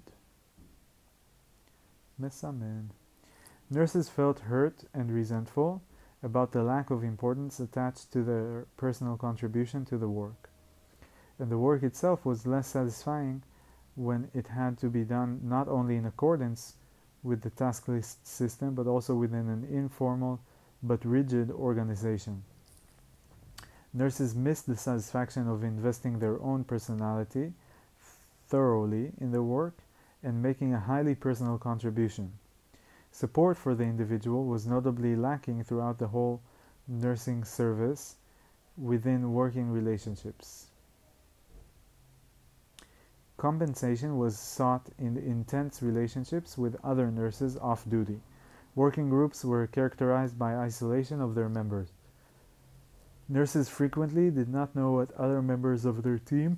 מסמן. Nurses felt hurt and resentful about the lack of importance attached to their personal contribution to the work. And the work itself was less satisfying when it had to be done not only in accordance with the task list system, but also within an informal but rigid organization. Nurses missed the satisfaction of investing their own personality thoroughly in the work and making a highly personal contribution. Support for the individual was notably lacking throughout the whole nursing service within working relationships. Compensation was sought in intense relationships with other nurses off duty. Working groups were characterized by isolation of their members. Nurses frequently did not know what other members of their team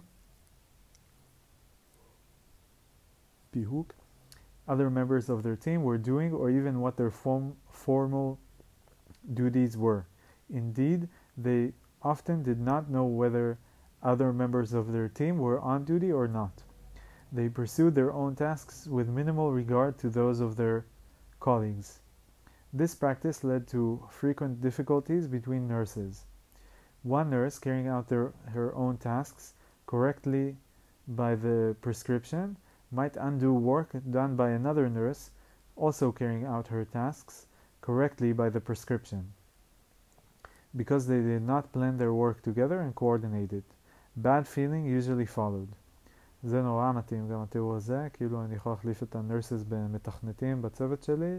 other members of their team were doing, or even what their form, formal duties were. Indeed, they often did not know whether other members of their team were on duty or not. They pursued their own tasks with minimal regard to those of their colleagues. This practice led to frequent difficulties between nurses. One nurse carrying out their, her own tasks correctly by the prescription might undo work done by another nurse also carrying out her tasks correctly by the prescription, because they did not plan their work together and coordinate it. Bad feeling usually followed. זה נורא מתאים גם התיאור הזה, כאילו אני יכול להחליף את הנרסס במתכנתים בצוות שלי,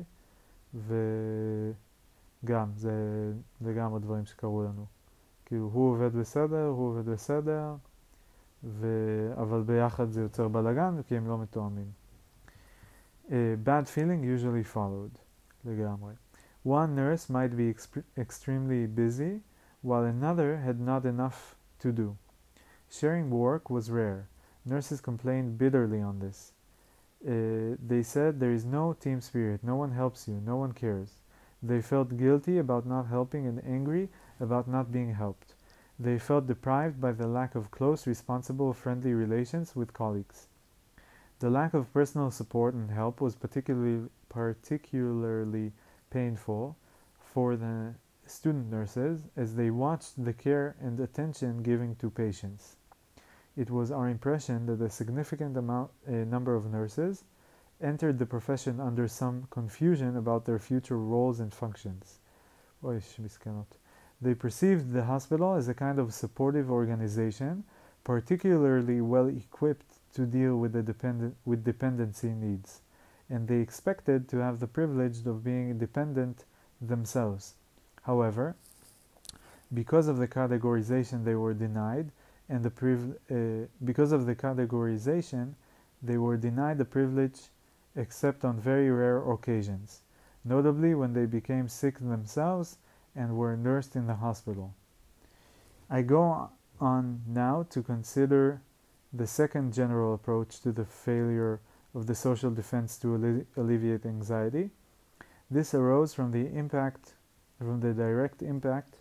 וגם, זה, זה גם הדברים שקרו לנו. כאילו הוא עובד בסדר, הוא עובד בסדר, ו... אבל ביחד זה יוצר בלגן, כי הם לא מתואמים. Uh, bad feeling usually followed. לגמרי. One nurse might be exp- extremely busy, while another had not enough to do. Sharing work was rare. Nurses complained bitterly on this. Uh, they said there is no team spirit, no one helps you, no one cares. They felt guilty about not helping and angry about not being helped. They felt deprived by the lack of close, responsible, friendly relations with colleagues. The lack of personal support and help was particularly, particularly painful for the student nurses as they watched the care and attention given to patients. It was our impression that a significant amount, a number of nurses entered the profession under some confusion about their future roles and functions. Oy, מסכנות. They perceived the hospital as a kind of supportive organization, particularly well equipped to deal with, the dependent, with dependency needs, and they expected to have the privilege of being independent themselves. However, because of the categorization they were denied, and the priv- uh, because of the categorization, they were denied the privilege except on very rare occasions, notably when they became sick themselves and were nursed in the hospital. I go on now to consider the second general approach to the failure of the social defense to alle- alleviate anxiety. This arose from the impact, from the direct impact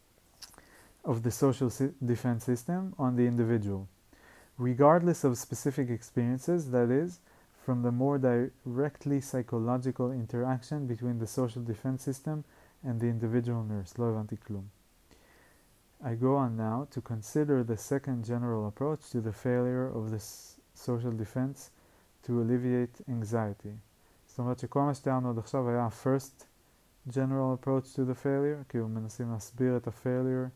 of the social si- defense system on the individual, regardless of specific experiences, that is, from the more directly psychological interaction between the social defense system and the individual nurse. לא הבנתי כלום. I go on now to consider the second general approach to the failure of the s- social defense to alleviate anxiety. זאת אומרת שכל מה שתיארנו עד עכשיו היה first general approach to the failure, כאילו מנסים להסביר את ה-failure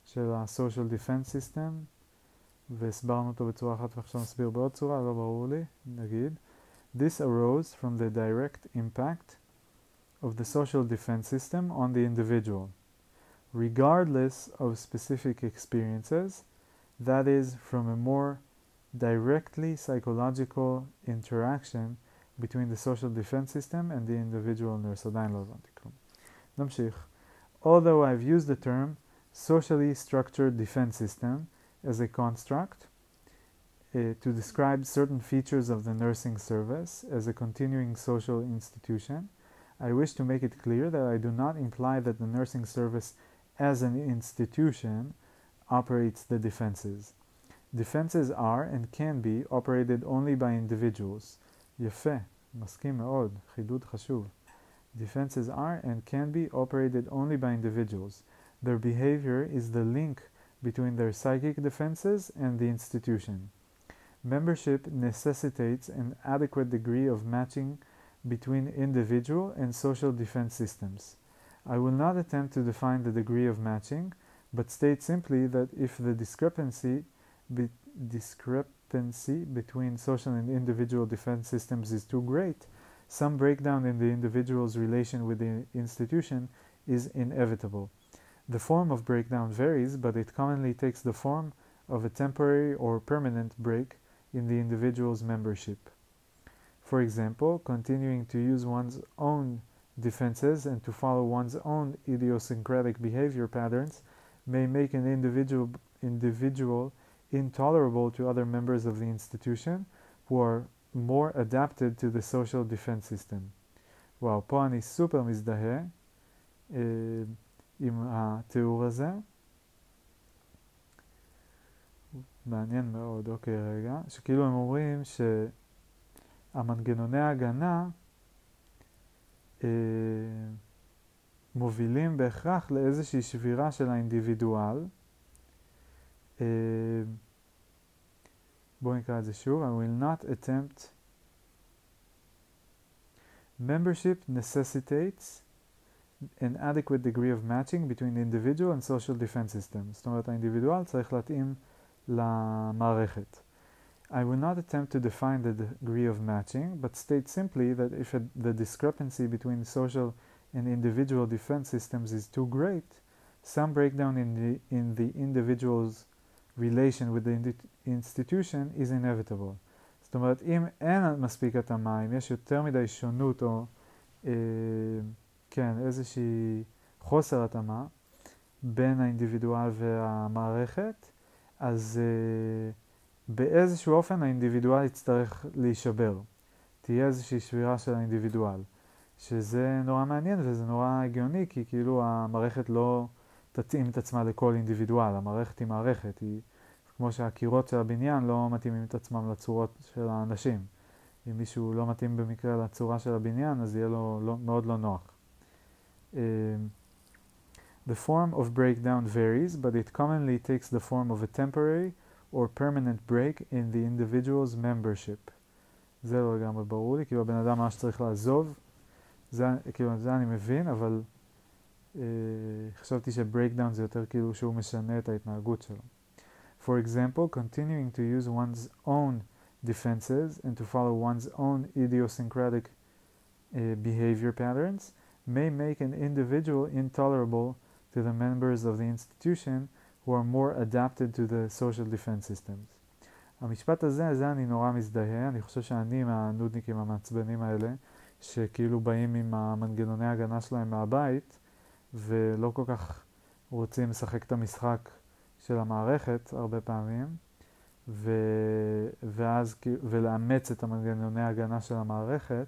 של ה-social defense system, והסברנו אותו בצורה אחת ועכשיו נסביר בעוד צורה, לא ברור לי, נגיד. This arose from the direct impact of the social defense system on the individual, regardless of specific experiences, that is, from a more directly psychological interaction between the social defense system and the individual nurse. עדיין לא הבנתי כלום. נמשיך. Although I've used the term socially structured defense system as a construct uh, to describe certain features of the nursing service as a continuing social institution, I wish to make it clear that I do not imply that the nursing service as an institution operates the defenses. Defenses are and can be operated only by individuals. יפה, מסכים מאוד, חידוד חשוב. Defenses are and can be operated only by individuals. Their behavior is the link between their psychic defenses and the institution. Membership necessitates an adequate degree of matching between individual and social defense systems. I will not attempt to define the degree of matching, but state simply that if the discrepancy, be, discrepancy between social and individual defense systems is too great, some breakdown in the individual's relation with the institution is inevitable. The form of breakdown varies, but it commonly takes the form of a temporary or permanent break in the individual's membership. For example, continuing to use one's own defenses and to follow one's own idiosyncratic behavior patterns may make an individual, individual intolerable to other members of the institution who are more adapted to the social defense system. וואו, פה אני סופר מזדהה אה, עם התיאור הזה. מעניין מאוד, אוקיי רגע, שכאילו הם אומרים שהמנגנוני ההגנה אה, מובילים בהכרח לאיזושהי שבירה של האינדיבידואל. אה, בואו נקרא את זה שוב. I will not attempt. Membership necessitates an adequate degree of matching between individual and social defense systems. זאת אומרת, האינדיבידואל צריך להתאים למערכת. I will not attempt to define the degree of matching, but state simply that if a, the discrepancy between social and individual defense systems is too great, some breakdown in the, in the individual's relation with the institution is inevitable. זאת אומרת, אם אין מספיק התאמה, אם יש יותר מדי שונות או אה, כן, איזושהי חוסר התאמה בין האינדיבידואל והמערכת, אז אה, באיזשהו אופן האינדיבידואל יצטרך להישבר. תהיה איזושהי שבירה של האינדיבידואל. שזה נורא מעניין וזה נורא הגיוני, כי כאילו המערכת לא תתאים את עצמה לכל אינדיבידואל. המערכת היא מערכת, היא כמו שהקירות של הבניין לא מתאימים את עצמם לצורות של האנשים. אם מישהו לא מתאים במקרה לצורה של הבניין, אז יהיה לו לא, מאוד לא נוח. Um, the form of breakdown varies, but it commonly takes the form of a temporary or permanent break in the individual's membership. זה לא לגמרי ברור לי, כאילו הבן אדם ממש צריך לעזוב. זה, כאילו, זה אני מבין, אבל uh, חשבתי שברייקדאון זה יותר כאילו שהוא משנה את ההתנהגות שלו. For example, continuing to use one's own defenses and to follow one's own idiosyncratic uh, behavior patterns may make an individual intolerable to the members of the institution who are more adapted to the social defense systems. המשפט הזה, זה אני נורא מזדהה. אני חושב שאני מהנודניקים המעצבנים האלה, שכאילו באים עם המנגנוני ההגנה שלהם מהבית, ולא כל כך רוצים לשחק את המשחק של המערכת הרבה פעמים, ו... ואז ולאמץ את המנגנוני ההגנה של המערכת,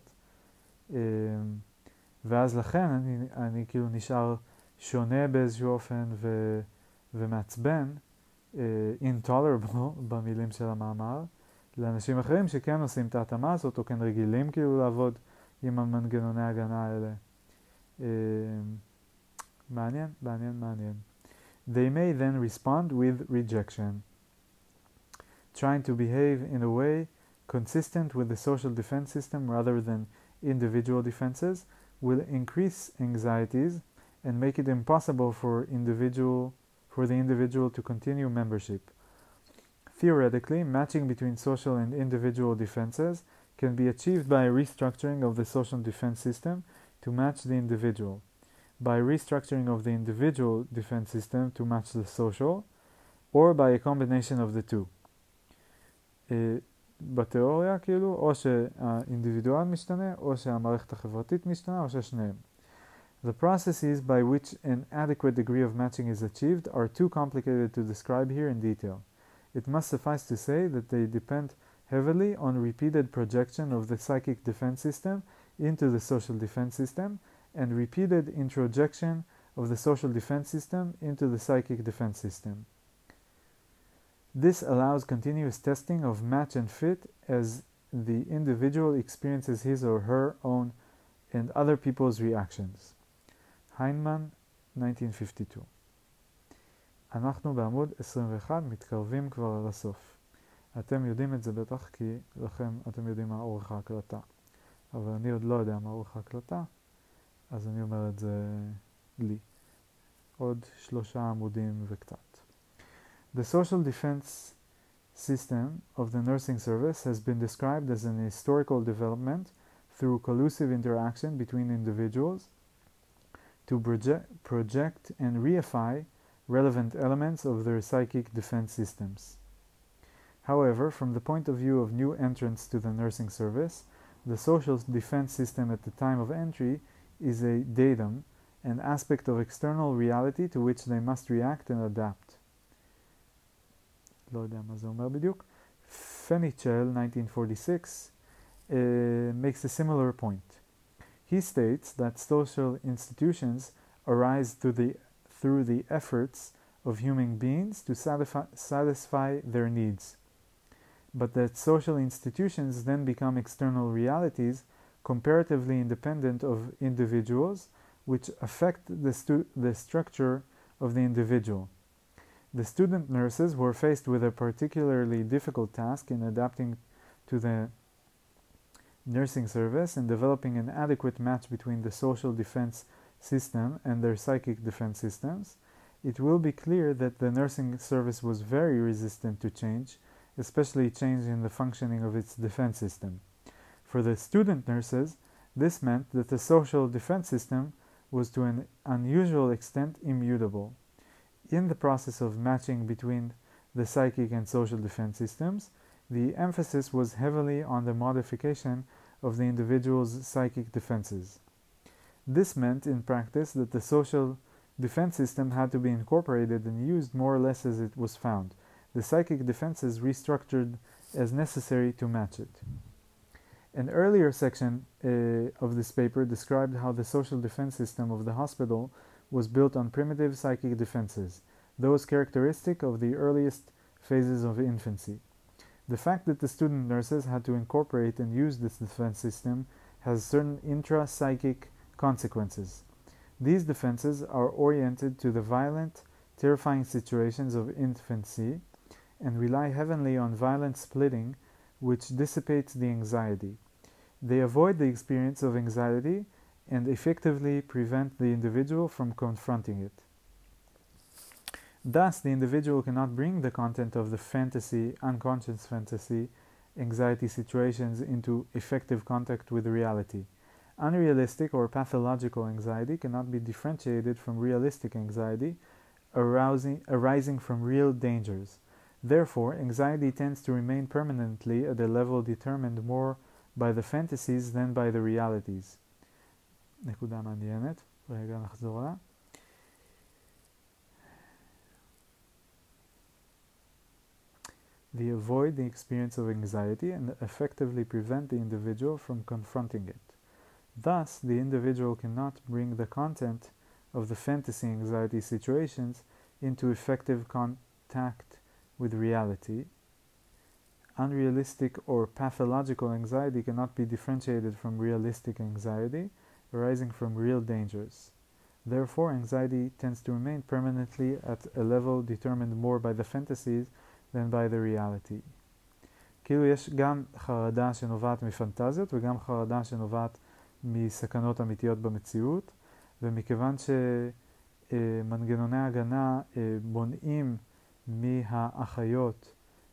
ואז לכן אני, אני כאילו נשאר שונה באיזשהו אופן ו... ומעצבן, intolerable במילים של המאמר, לאנשים אחרים שכן עושים את ההתאמה הזאת, או כן רגילים כאילו לעבוד עם המנגנוני ההגנה האלה. מעניין, מעניין, מעניין. They may then respond with rejection, trying to behave in a way consistent with the social defense system rather than individual defenses will increase anxieties and make it impossible for individual for the individual to continue membership. Theoretically, matching between social and individual defenses can be achieved by a restructuring of the social defense system to match the individual, by restructuring of the individual defense system to match the social, or by a combination of the two. בתיאוריה, כאילו, או שהאינדיבידואל משתנה, או שהמערכת החברתית משתנה, או ששניהם. The processes by which an adequate degree of matching is achieved are too complicated to describe here in detail. It must suffice to say that they depend heavily on repeated projection of the psychic defense system into the social defense system and repeated introjection of the social defense system into the psychic defense system. This allows continuous testing of match and fit as the individual experiences his or her own and other people's reactions. היינמן, nineteen fifty-two. אנחנו בעמוד עשרים ואחת, מתקרבים כבר לסוף. אתם יודעים את זה בטח כי לכם, אתם יודעים מה אורך ההקלטה. אבל אני עוד לא יודע מה אורך ההקלטה, אז אני אומר את זה לי. עוד שלושה עמודים וקצת. The social defense system of the nursing service has been described as an historical development through collusive interaction between individuals to project, project and reify relevant elements of their psychic defense systems. However, from the point of view of new entrants to the nursing service, the social defense system at the time of entry is a datum, an aspect of external reality to which they must react and adapt. לא יודע מה זה אומר בדיוק. Fenichel, nineteen forty-six, uh, makes a similar point. He states that social institutions arise through the, through the efforts of human beings to satisfy, satisfy their needs, but that social institutions then become external realities comparatively independent of individuals, which affect the, stu- the structure of the individual. The student nurses were faced with a particularly difficult task in adapting to the nursing service and developing an adequate match between the social defense system and their psychic defense systems. It will be clear that the nursing service was very resistant to change, especially change in the functioning of its defense system. For the student nurses, this meant that the social defense system was to an unusual extent immutable. In the process of matching between the psychic and social defense systems, the emphasis was heavily on the modification of the individual's psychic defenses. This meant in practice that the social defense system had to be incorporated and used more or less as it was found, the psychic defenses restructured as necessary to match it. An earlier section uh, of this paper described how the social defense system of the hospital was built on primitive psychic defenses, those characteristic of the earliest phases of infancy. The fact that the student nurses had to incorporate and use this defense system has certain intra-psychic consequences. These defenses are oriented to the violent, terrifying situations of infancy and rely heavily on violent splitting, which dissipates the anxiety. They avoid the experience of anxiety and effectively prevent the individual from confronting it. Thus, the individual cannot bring the content of the fantasy, unconscious fantasy, anxiety situations into effective contact with reality. Unrealistic or pathological anxiety cannot be differentiated from realistic anxiety arousing, arising from real dangers. Therefore, anxiety tends to remain permanently at a level determined more by the fantasies than by the realities. נקודה מעניינת, רגע נחזור לה. They avoid the experience of anxiety and effectively prevent the individual from confronting it. Thus, the individual cannot bring the content of the fantasy anxiety situations into effective contact with reality. Unrealistic or pathological anxiety cannot be differentiated from realistic anxiety arising from real dangers. Therefore, anxiety tends to remain permanently at a level determined more by the fantasies than by the reality. כאילו יש גם חרדה שנובעת מפנטזיות וגם חרדה שנובעת מסכנות אמיתיות במציאות, ומכיוון מנגנוני הגנה מונעים מהאחיות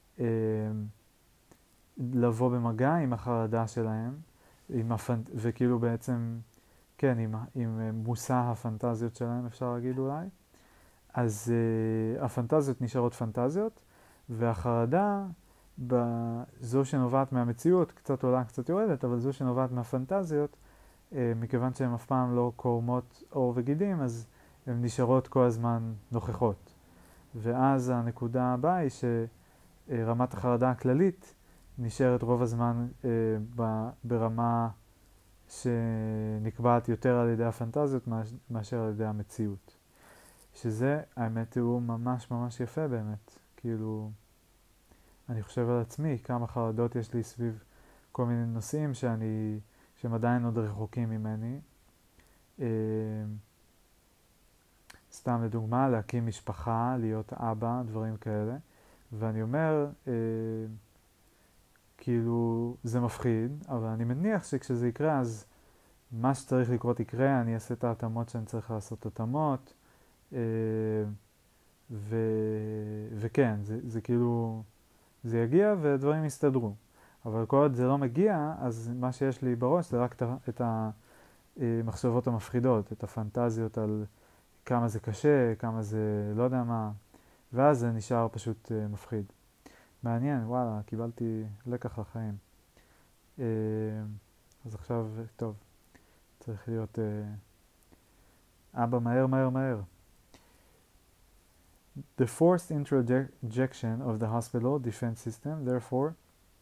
לבוא במגע עם החרדה שלהם, עם הפנ... וכאילו בעצם, כן, עם, עם מושא הפנטזיות שלהם, אפשר להגיד אולי. אז uh, הפנטזיות נשארות פנטזיות, והחרדה, זו שנובעת מהמציאות, קצת עולה, קצת יורדת, אבל זו שנובעת מהפנטזיות, uh, מכיוון שהן אף פעם לא קורמות עור וגידים, אז הן נשארות כל הזמן נוכחות. ואז הנקודה הבאה היא שרמת החרדה הכללית נשארת רוב הזמן uh, ב- ברמה שנקבעת יותר על ידי הפנטזיות מאשר על ידי המציאות. שזה, האמת, הוא ממש ממש יפה באמת. כאילו, אני חושב על עצמי, כמה חרדות יש לי סביב כל מיני נושאים שאני, שהם עדיין עוד רחוקים ממני. אה, סתם לדוגמה, להקים משפחה, להיות אבא, דברים כאלה. ואני אומר, אה, כאילו, זה מפחיד, אבל אני מניח שכשזה יקרה, אז מה שצריך לקרות יקרה, אני אעשה את ההתאמות שאני צריך לעשות התאמות. ו... וכן, זה, זה כאילו, זה יגיע ודברים יסתדרו. אבל כל עוד זה לא מגיע, אז מה שיש לי בראש זה רק את המחשבות המפחידות, את הפנטזיות על כמה זה קשה, כמה זה לא יודע מה, ואז זה נשאר פשוט מפחיד. מעניין, וואלה, קיבלתי לקח לחיים. אז עכשיו, טוב, צריך להיות אבא מהר מהר מהר. The forced introjection of the hospital defense system, therefore,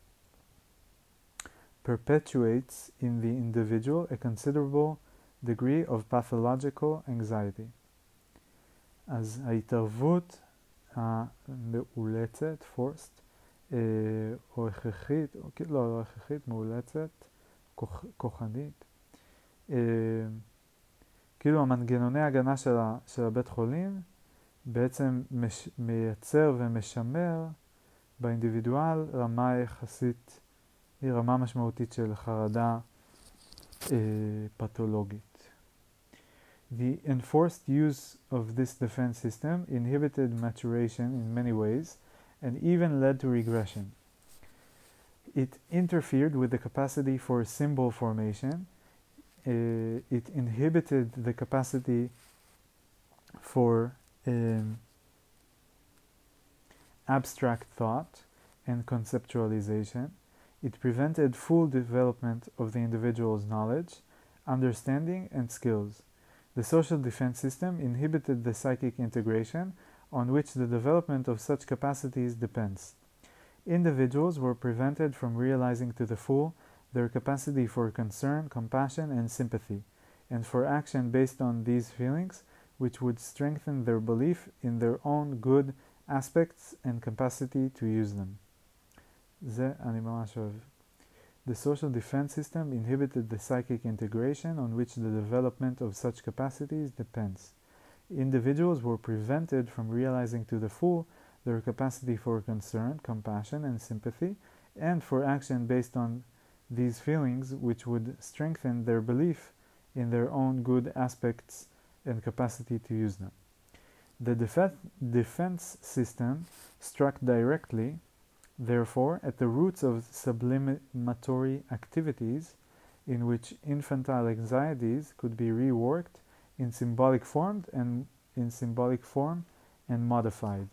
perpetuates in the individual a considerable degree of pathological anxiety. אז ההתערבות המאולצת, forced, אה, או הכרחית, או, לא, לא הכרחית, מאולצת, כוח, כוחנית, אה, כאילו המנגנוני הגנה של, ה, של הבית חולים, בעצם מש, מייצר ומשמר באינדיבידואל רמה יחסית, היא רמה משמעותית של חרדה אה, פתולוגית. The enforced use of this defense system inhibited maturation in many ways and even led to regression. It interfered with the capacity for symbol formation. Uh, it inhibited the capacity for um, abstract thought and conceptualization. It prevented full development of the individual's knowledge, understanding, and skills. The social defense system inhibited the psychic integration on which the development of such capacities depends. Individuals were prevented from realizing to the full their capacity for concern, compassion, and sympathy, and for action based on these feelings, which would strengthen their belief in their own good aspects and capacity to use them. זה אני ממש אוהב. The social defense system inhibited the psychic integration on which the development of such capacities depends. Individuals were prevented from realizing to the full their capacity for concern, compassion, and sympathy, and for action based on these feelings, which would strengthen their belief in their own good aspects and capacity to use them. The def- defense system struck directly, therefore, at the roots of sublimatory activities in which infantile anxieties could be reworked in symbolic form and in symbolic form and modified.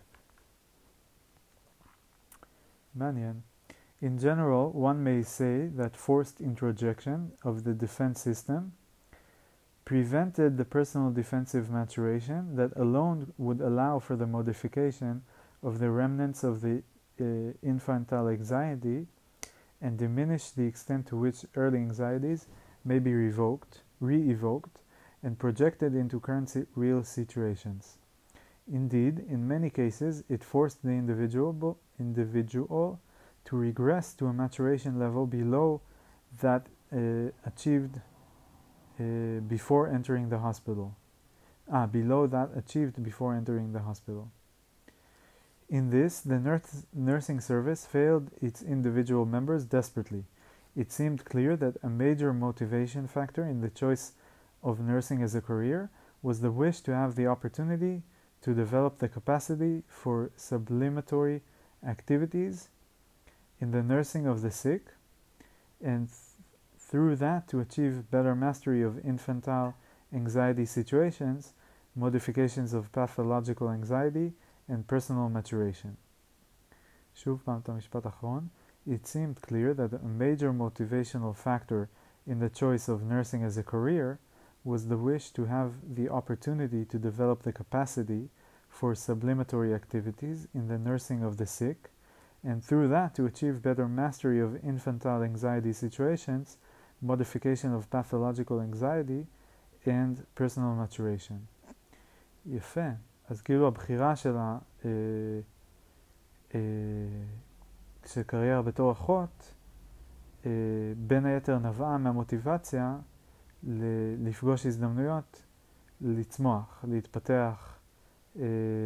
מעניין. In general, one may say that forced introjection of the defense system prevented the personal defensive maturation that alone would allow for the modification of the remnants of the uh, infantile anxiety and diminish the extent to which early anxieties may be revoked, re-evoked, and projected into current si- real situations. Indeed, in many cases, it forced the individual, individual to regress to a maturation level below that uh, achieved uh, before entering the hospital. Ah, below that achieved before entering the hospital. In this, the nurse, nursing service failed its individual members desperately. It seemed clear that a major motivation factor in the choice of nursing as a career was the wish to have the opportunity to develop the capacity for sublimatory activities in the nursing of the sick, and th- through that to achieve better mastery of infantile anxiety situations, modifications of pathological anxiety, and personal maturation. שוב פעם את המשפט האחרון. It seemed clear that a major motivational factor in the choice of nursing as a career was the wish to have the opportunity to develop the capacity for sublimatory activities in the nursing of the sick, and through that to achieve better mastery of infantile anxiety situations, modification of pathological anxiety, and personal maturation. יפה. אז כאילו הבחירה של ה... אה, אה, של קריירה בתור אחות, אה, בין היתר נבעה מהמוטיבציה ל- לפגוש הזדמנויות, לצמוח, להתפתח, אה,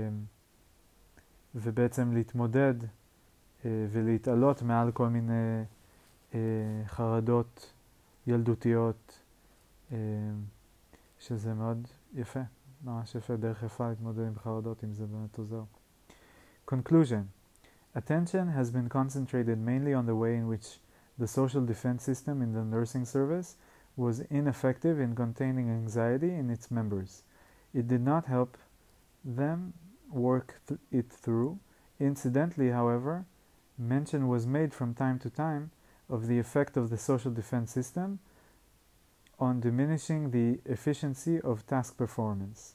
ובעצם להתמודד אה, ולהתעלות מעל כל מיני אה, חרדות ילדותיות, אה, שזה מאוד יפה, ממש יפה, דרך יפה להתמודד עם חרדות, אם זה באמת עוזר. Conclusion. Attention has been concentrated mainly on the way in which the social defense system in the nursing service was ineffective in containing anxiety in its members. It did not help them work th- it through. Incidentally, however, mention was made from time to time of the effect of the social defense system on diminishing the efficiency of task performance.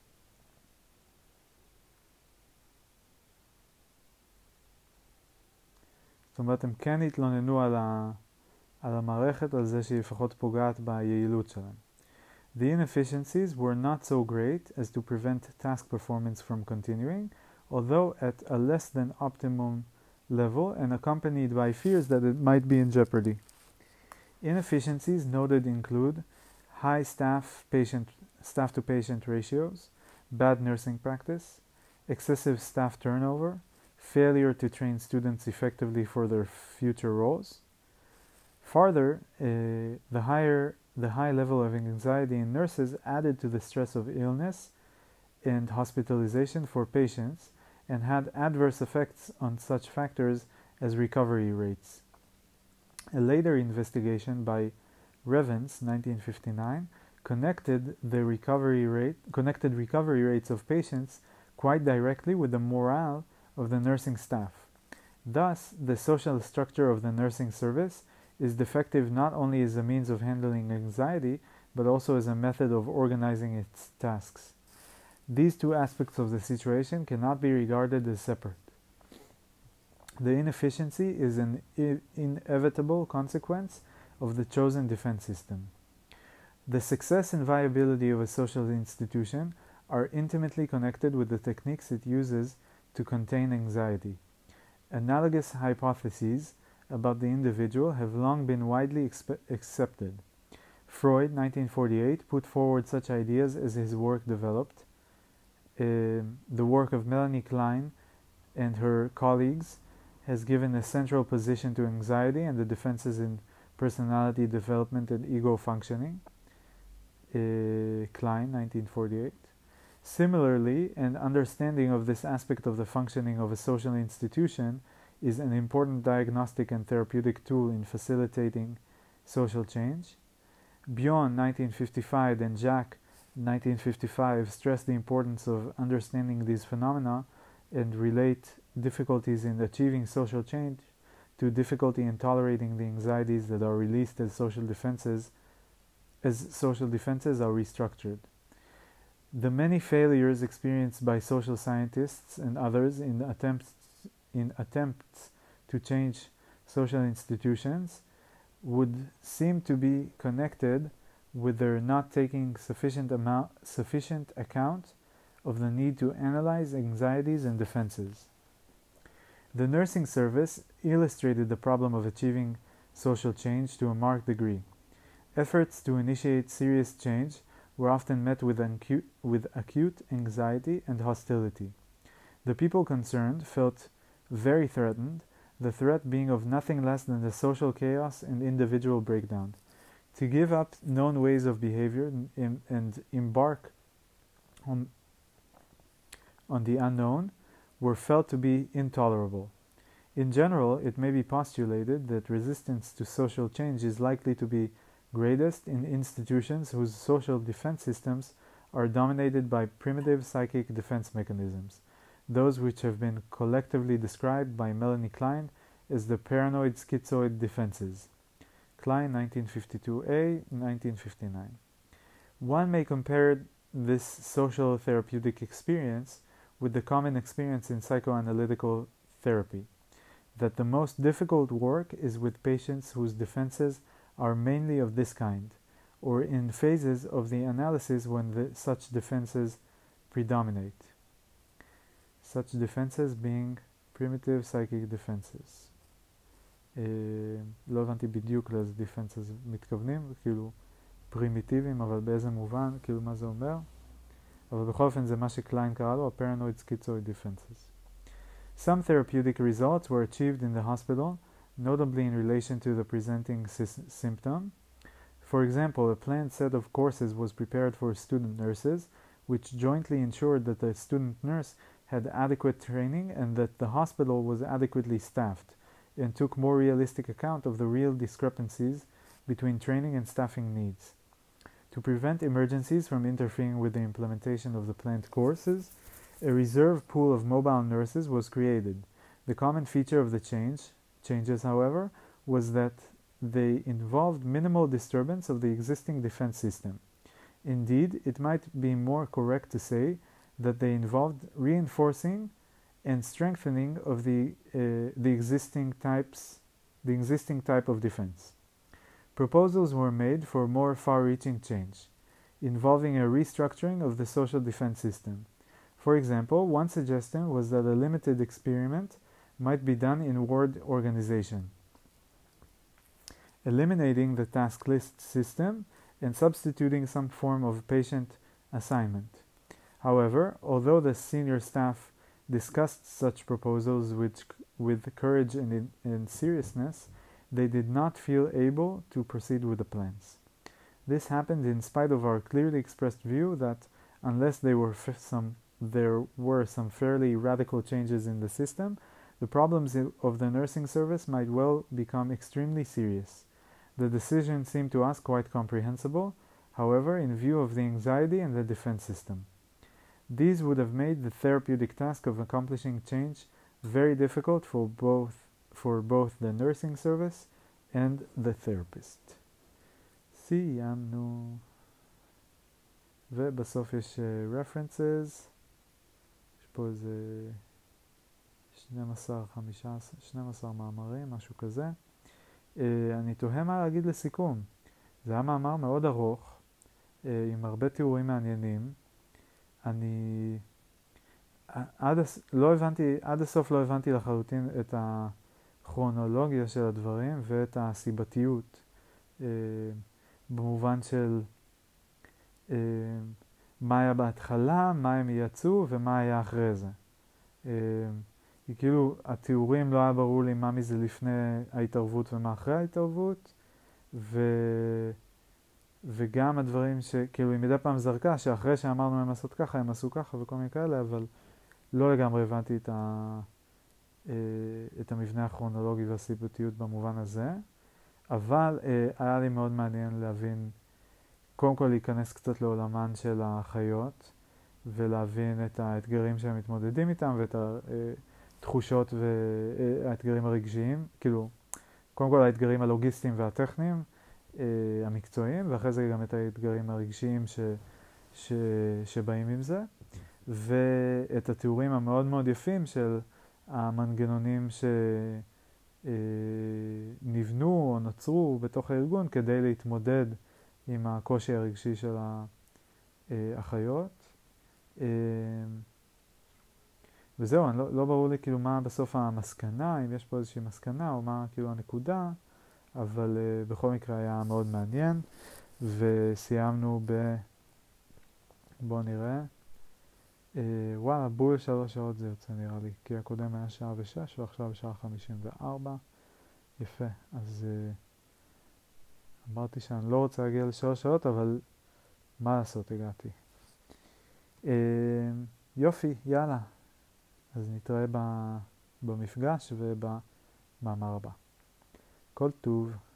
זאת אומרת, הם כן התלוננו על, ה, על המערכת, על זה שהיא לפחות פוגעת ביעילות שלהם. The inefficiencies were not so great as to prevent task performance from continuing, although at a less than optimum level and accompanied by fears that it might be in jeopardy. Inefficiencies noted include high staff patient staff to patient ratios, bad nursing practice, excessive staff turnover, failure to train students effectively for their future roles. Further, uh, the higher the high level of anxiety in nurses added to the stress of illness and hospitalization for patients and had adverse effects on such factors as recovery rates. A later investigation by Revens, nineteen fifty-nine, connected the recovery rate connected recovery rates of patients quite directly with the morale of the nursing staff. Thus, the social structure of the nursing service is defective not only as a means of handling anxiety, but also as a method of organizing its tasks. These two aspects of the situation cannot be regarded as separate. The inefficiency is an I- inevitable consequence of the chosen defense system. The success and viability of a social institution are intimately connected with the techniques it uses to contain anxiety. Analogous hypotheses about the individual have long been widely expe- accepted. Freud, nineteen forty-eight, put forward such ideas as his work developed. Uh, the work of Melanie Klein and her colleagues has given a central position to anxiety and the defenses in personality development and ego functioning. Uh, Klein, nineteen forty-eight. Similarly, an understanding of this aspect of the functioning of a social institution is an important diagnostic and therapeutic tool in facilitating social change. Bion, nineteen fifty-five, and Jacques, nineteen fifty-five, stress the importance of understanding these phenomena and relate difficulties in achieving social change to difficulty in tolerating the anxieties that are released as social defenses as social defenses are restructured. The many failures experienced by social scientists and others in attempts in attempts to change social institutions would seem to be connected with their not taking sufficient amount sufficient account of the need to analyze anxieties and defenses. The nursing service illustrated the problem of achieving social change to a marked degree. Efforts to initiate serious change were often met with, acute, with acute anxiety and hostility. The people concerned felt very threatened, the threat being of nothing less than the social chaos and individual breakdown. To give up known ways of behavior and, and embark on, on the unknown were felt to be intolerable. In general, it may be postulated that resistance to social change is likely to be greatest in institutions whose social defense systems are dominated by primitive psychic defense mechanisms, those which have been collectively described by Melanie Klein as the paranoid schizoid defenses. Klein, nineteen fifty-two A, nineteen fifty-nine. One may compare this social therapeutic experience with the common experience in psychoanalytical therapy, that the most difficult work is with patients whose defenses are mainly of this kind, or in phases of the analysis when the, such defenses predominate. Such defenses being primitive psychic defenses. Uh, לא הבנתי בדיוק לאיזה defenses מתכוונים, כאילו פרימיטיביים, אבל באיזה מובן, כאילו מה זה אומר? אבל בכל אופן זה מה שקליין קרא לו, paranoid schizoid defenses. Some therapeutic results were achieved in the hospital, notably in relation to the presenting symptom. For example, a planned set of courses was prepared for student nurses, which jointly ensured that the student nurse had adequate training and that the hospital was adequately staffed, and took more realistic account of the real discrepancies between training and staffing needs. To prevent emergencies from interfering with the implementation of the planned courses, a reserve pool of mobile nurses was created. The common feature of the change, changes, however, was that they involved minimal disturbance of the existing defense system. Indeed, it might be more correct to say that they involved reinforcing and strengthening of the, uh, the existing types, the existing type of defense. Proposals were made for more far-reaching change, involving a restructuring of the social defense system. For example, one suggestion was that a limited experiment might be done in ward organization, eliminating the task list system and substituting some form of patient assignment. However, although the senior staff discussed such proposals with, with courage and, in, and seriousness, they did not feel able to proceed with the plans. This happened in spite of our clearly expressed view that unless there were some, there were some fairly radical changes in the system, the problems of the nursing service might well become extremely serious. The decision seemed to us quite comprehensible, however, in view of the anxiety and the defense system. These would have made the therapeutic task of accomplishing change very difficult for both, for both the nursing service and the therapist. סיימנו. ובסוף יש uh, references. יש פה איזה שנים עשר, חמישה עשר, שנים עשר מאמרים, משהו כזה. Uh, אני תוהה מה להגיד לסיכום. זה היה מאמר מאוד ארוך, uh, עם הרבה תיאורים מעניינים. אני עד, לא הבנתי, עד הסוף לא הבנתי לחלוטין את הכרונולוגיה של הדברים ואת הסיבתיות, uh, במובן של uh, מה היה בהתחלה, מה הם יצאו ומה היה אחרי זה. Uh, כי כאילו התיאורים לא היה ברור לי מה מזה לפני ההתערבות ומה אחרי ההתערבות, ו... וגם הדברים שכאילו היא מדי פעם זרקה שאחרי שאמרנו הם לעשות ככה הם עשו ככה וכל מיני כאלה, אבל לא לגמרי הבנתי את, ה... את המבנה הכרונולוגי והסיבתיות במובן הזה, אבל היה לי מאוד מעניין להבין, קודם כל להיכנס קצת לעולמן של החיות ולהבין את האתגרים שהם מתמודדים איתם ואת התחושות והאתגרים הרגשיים, כאילו קודם כל האתגרים הלוגיסטיים והטכניים המקצועיים, ואחרי זה גם את האתגרים הרגשיים ש, ש, שבאים עם זה, ואת התיאורים המאוד מאוד יפים של המנגנונים שנבנו או נוצרו בתוך הארגון כדי להתמודד עם הקושי הרגשי של האחיות. וזהו, אני לא, לא ברור לי כאילו מה בסוף המסקנה, אם יש פה איזושהי מסקנה או מה כאילו הנקודה, אבל uh, בכל מקרה היה מאוד מעניין, וסיימנו ב... בואו נראה. Uh, וואלה, בול שלוש שעות זה יוצא נראה לי, כי הקודם היה שעה ושש ועכשיו שעה חמישים וארבע. יפה, אז uh, אמרתי שאני לא רוצה להגיע לשלוש שעות, אבל מה לעשות, הגעתי. אה, יופי, יאללה. אז נתראה במפגש ובמאמר הבא. כל טוב.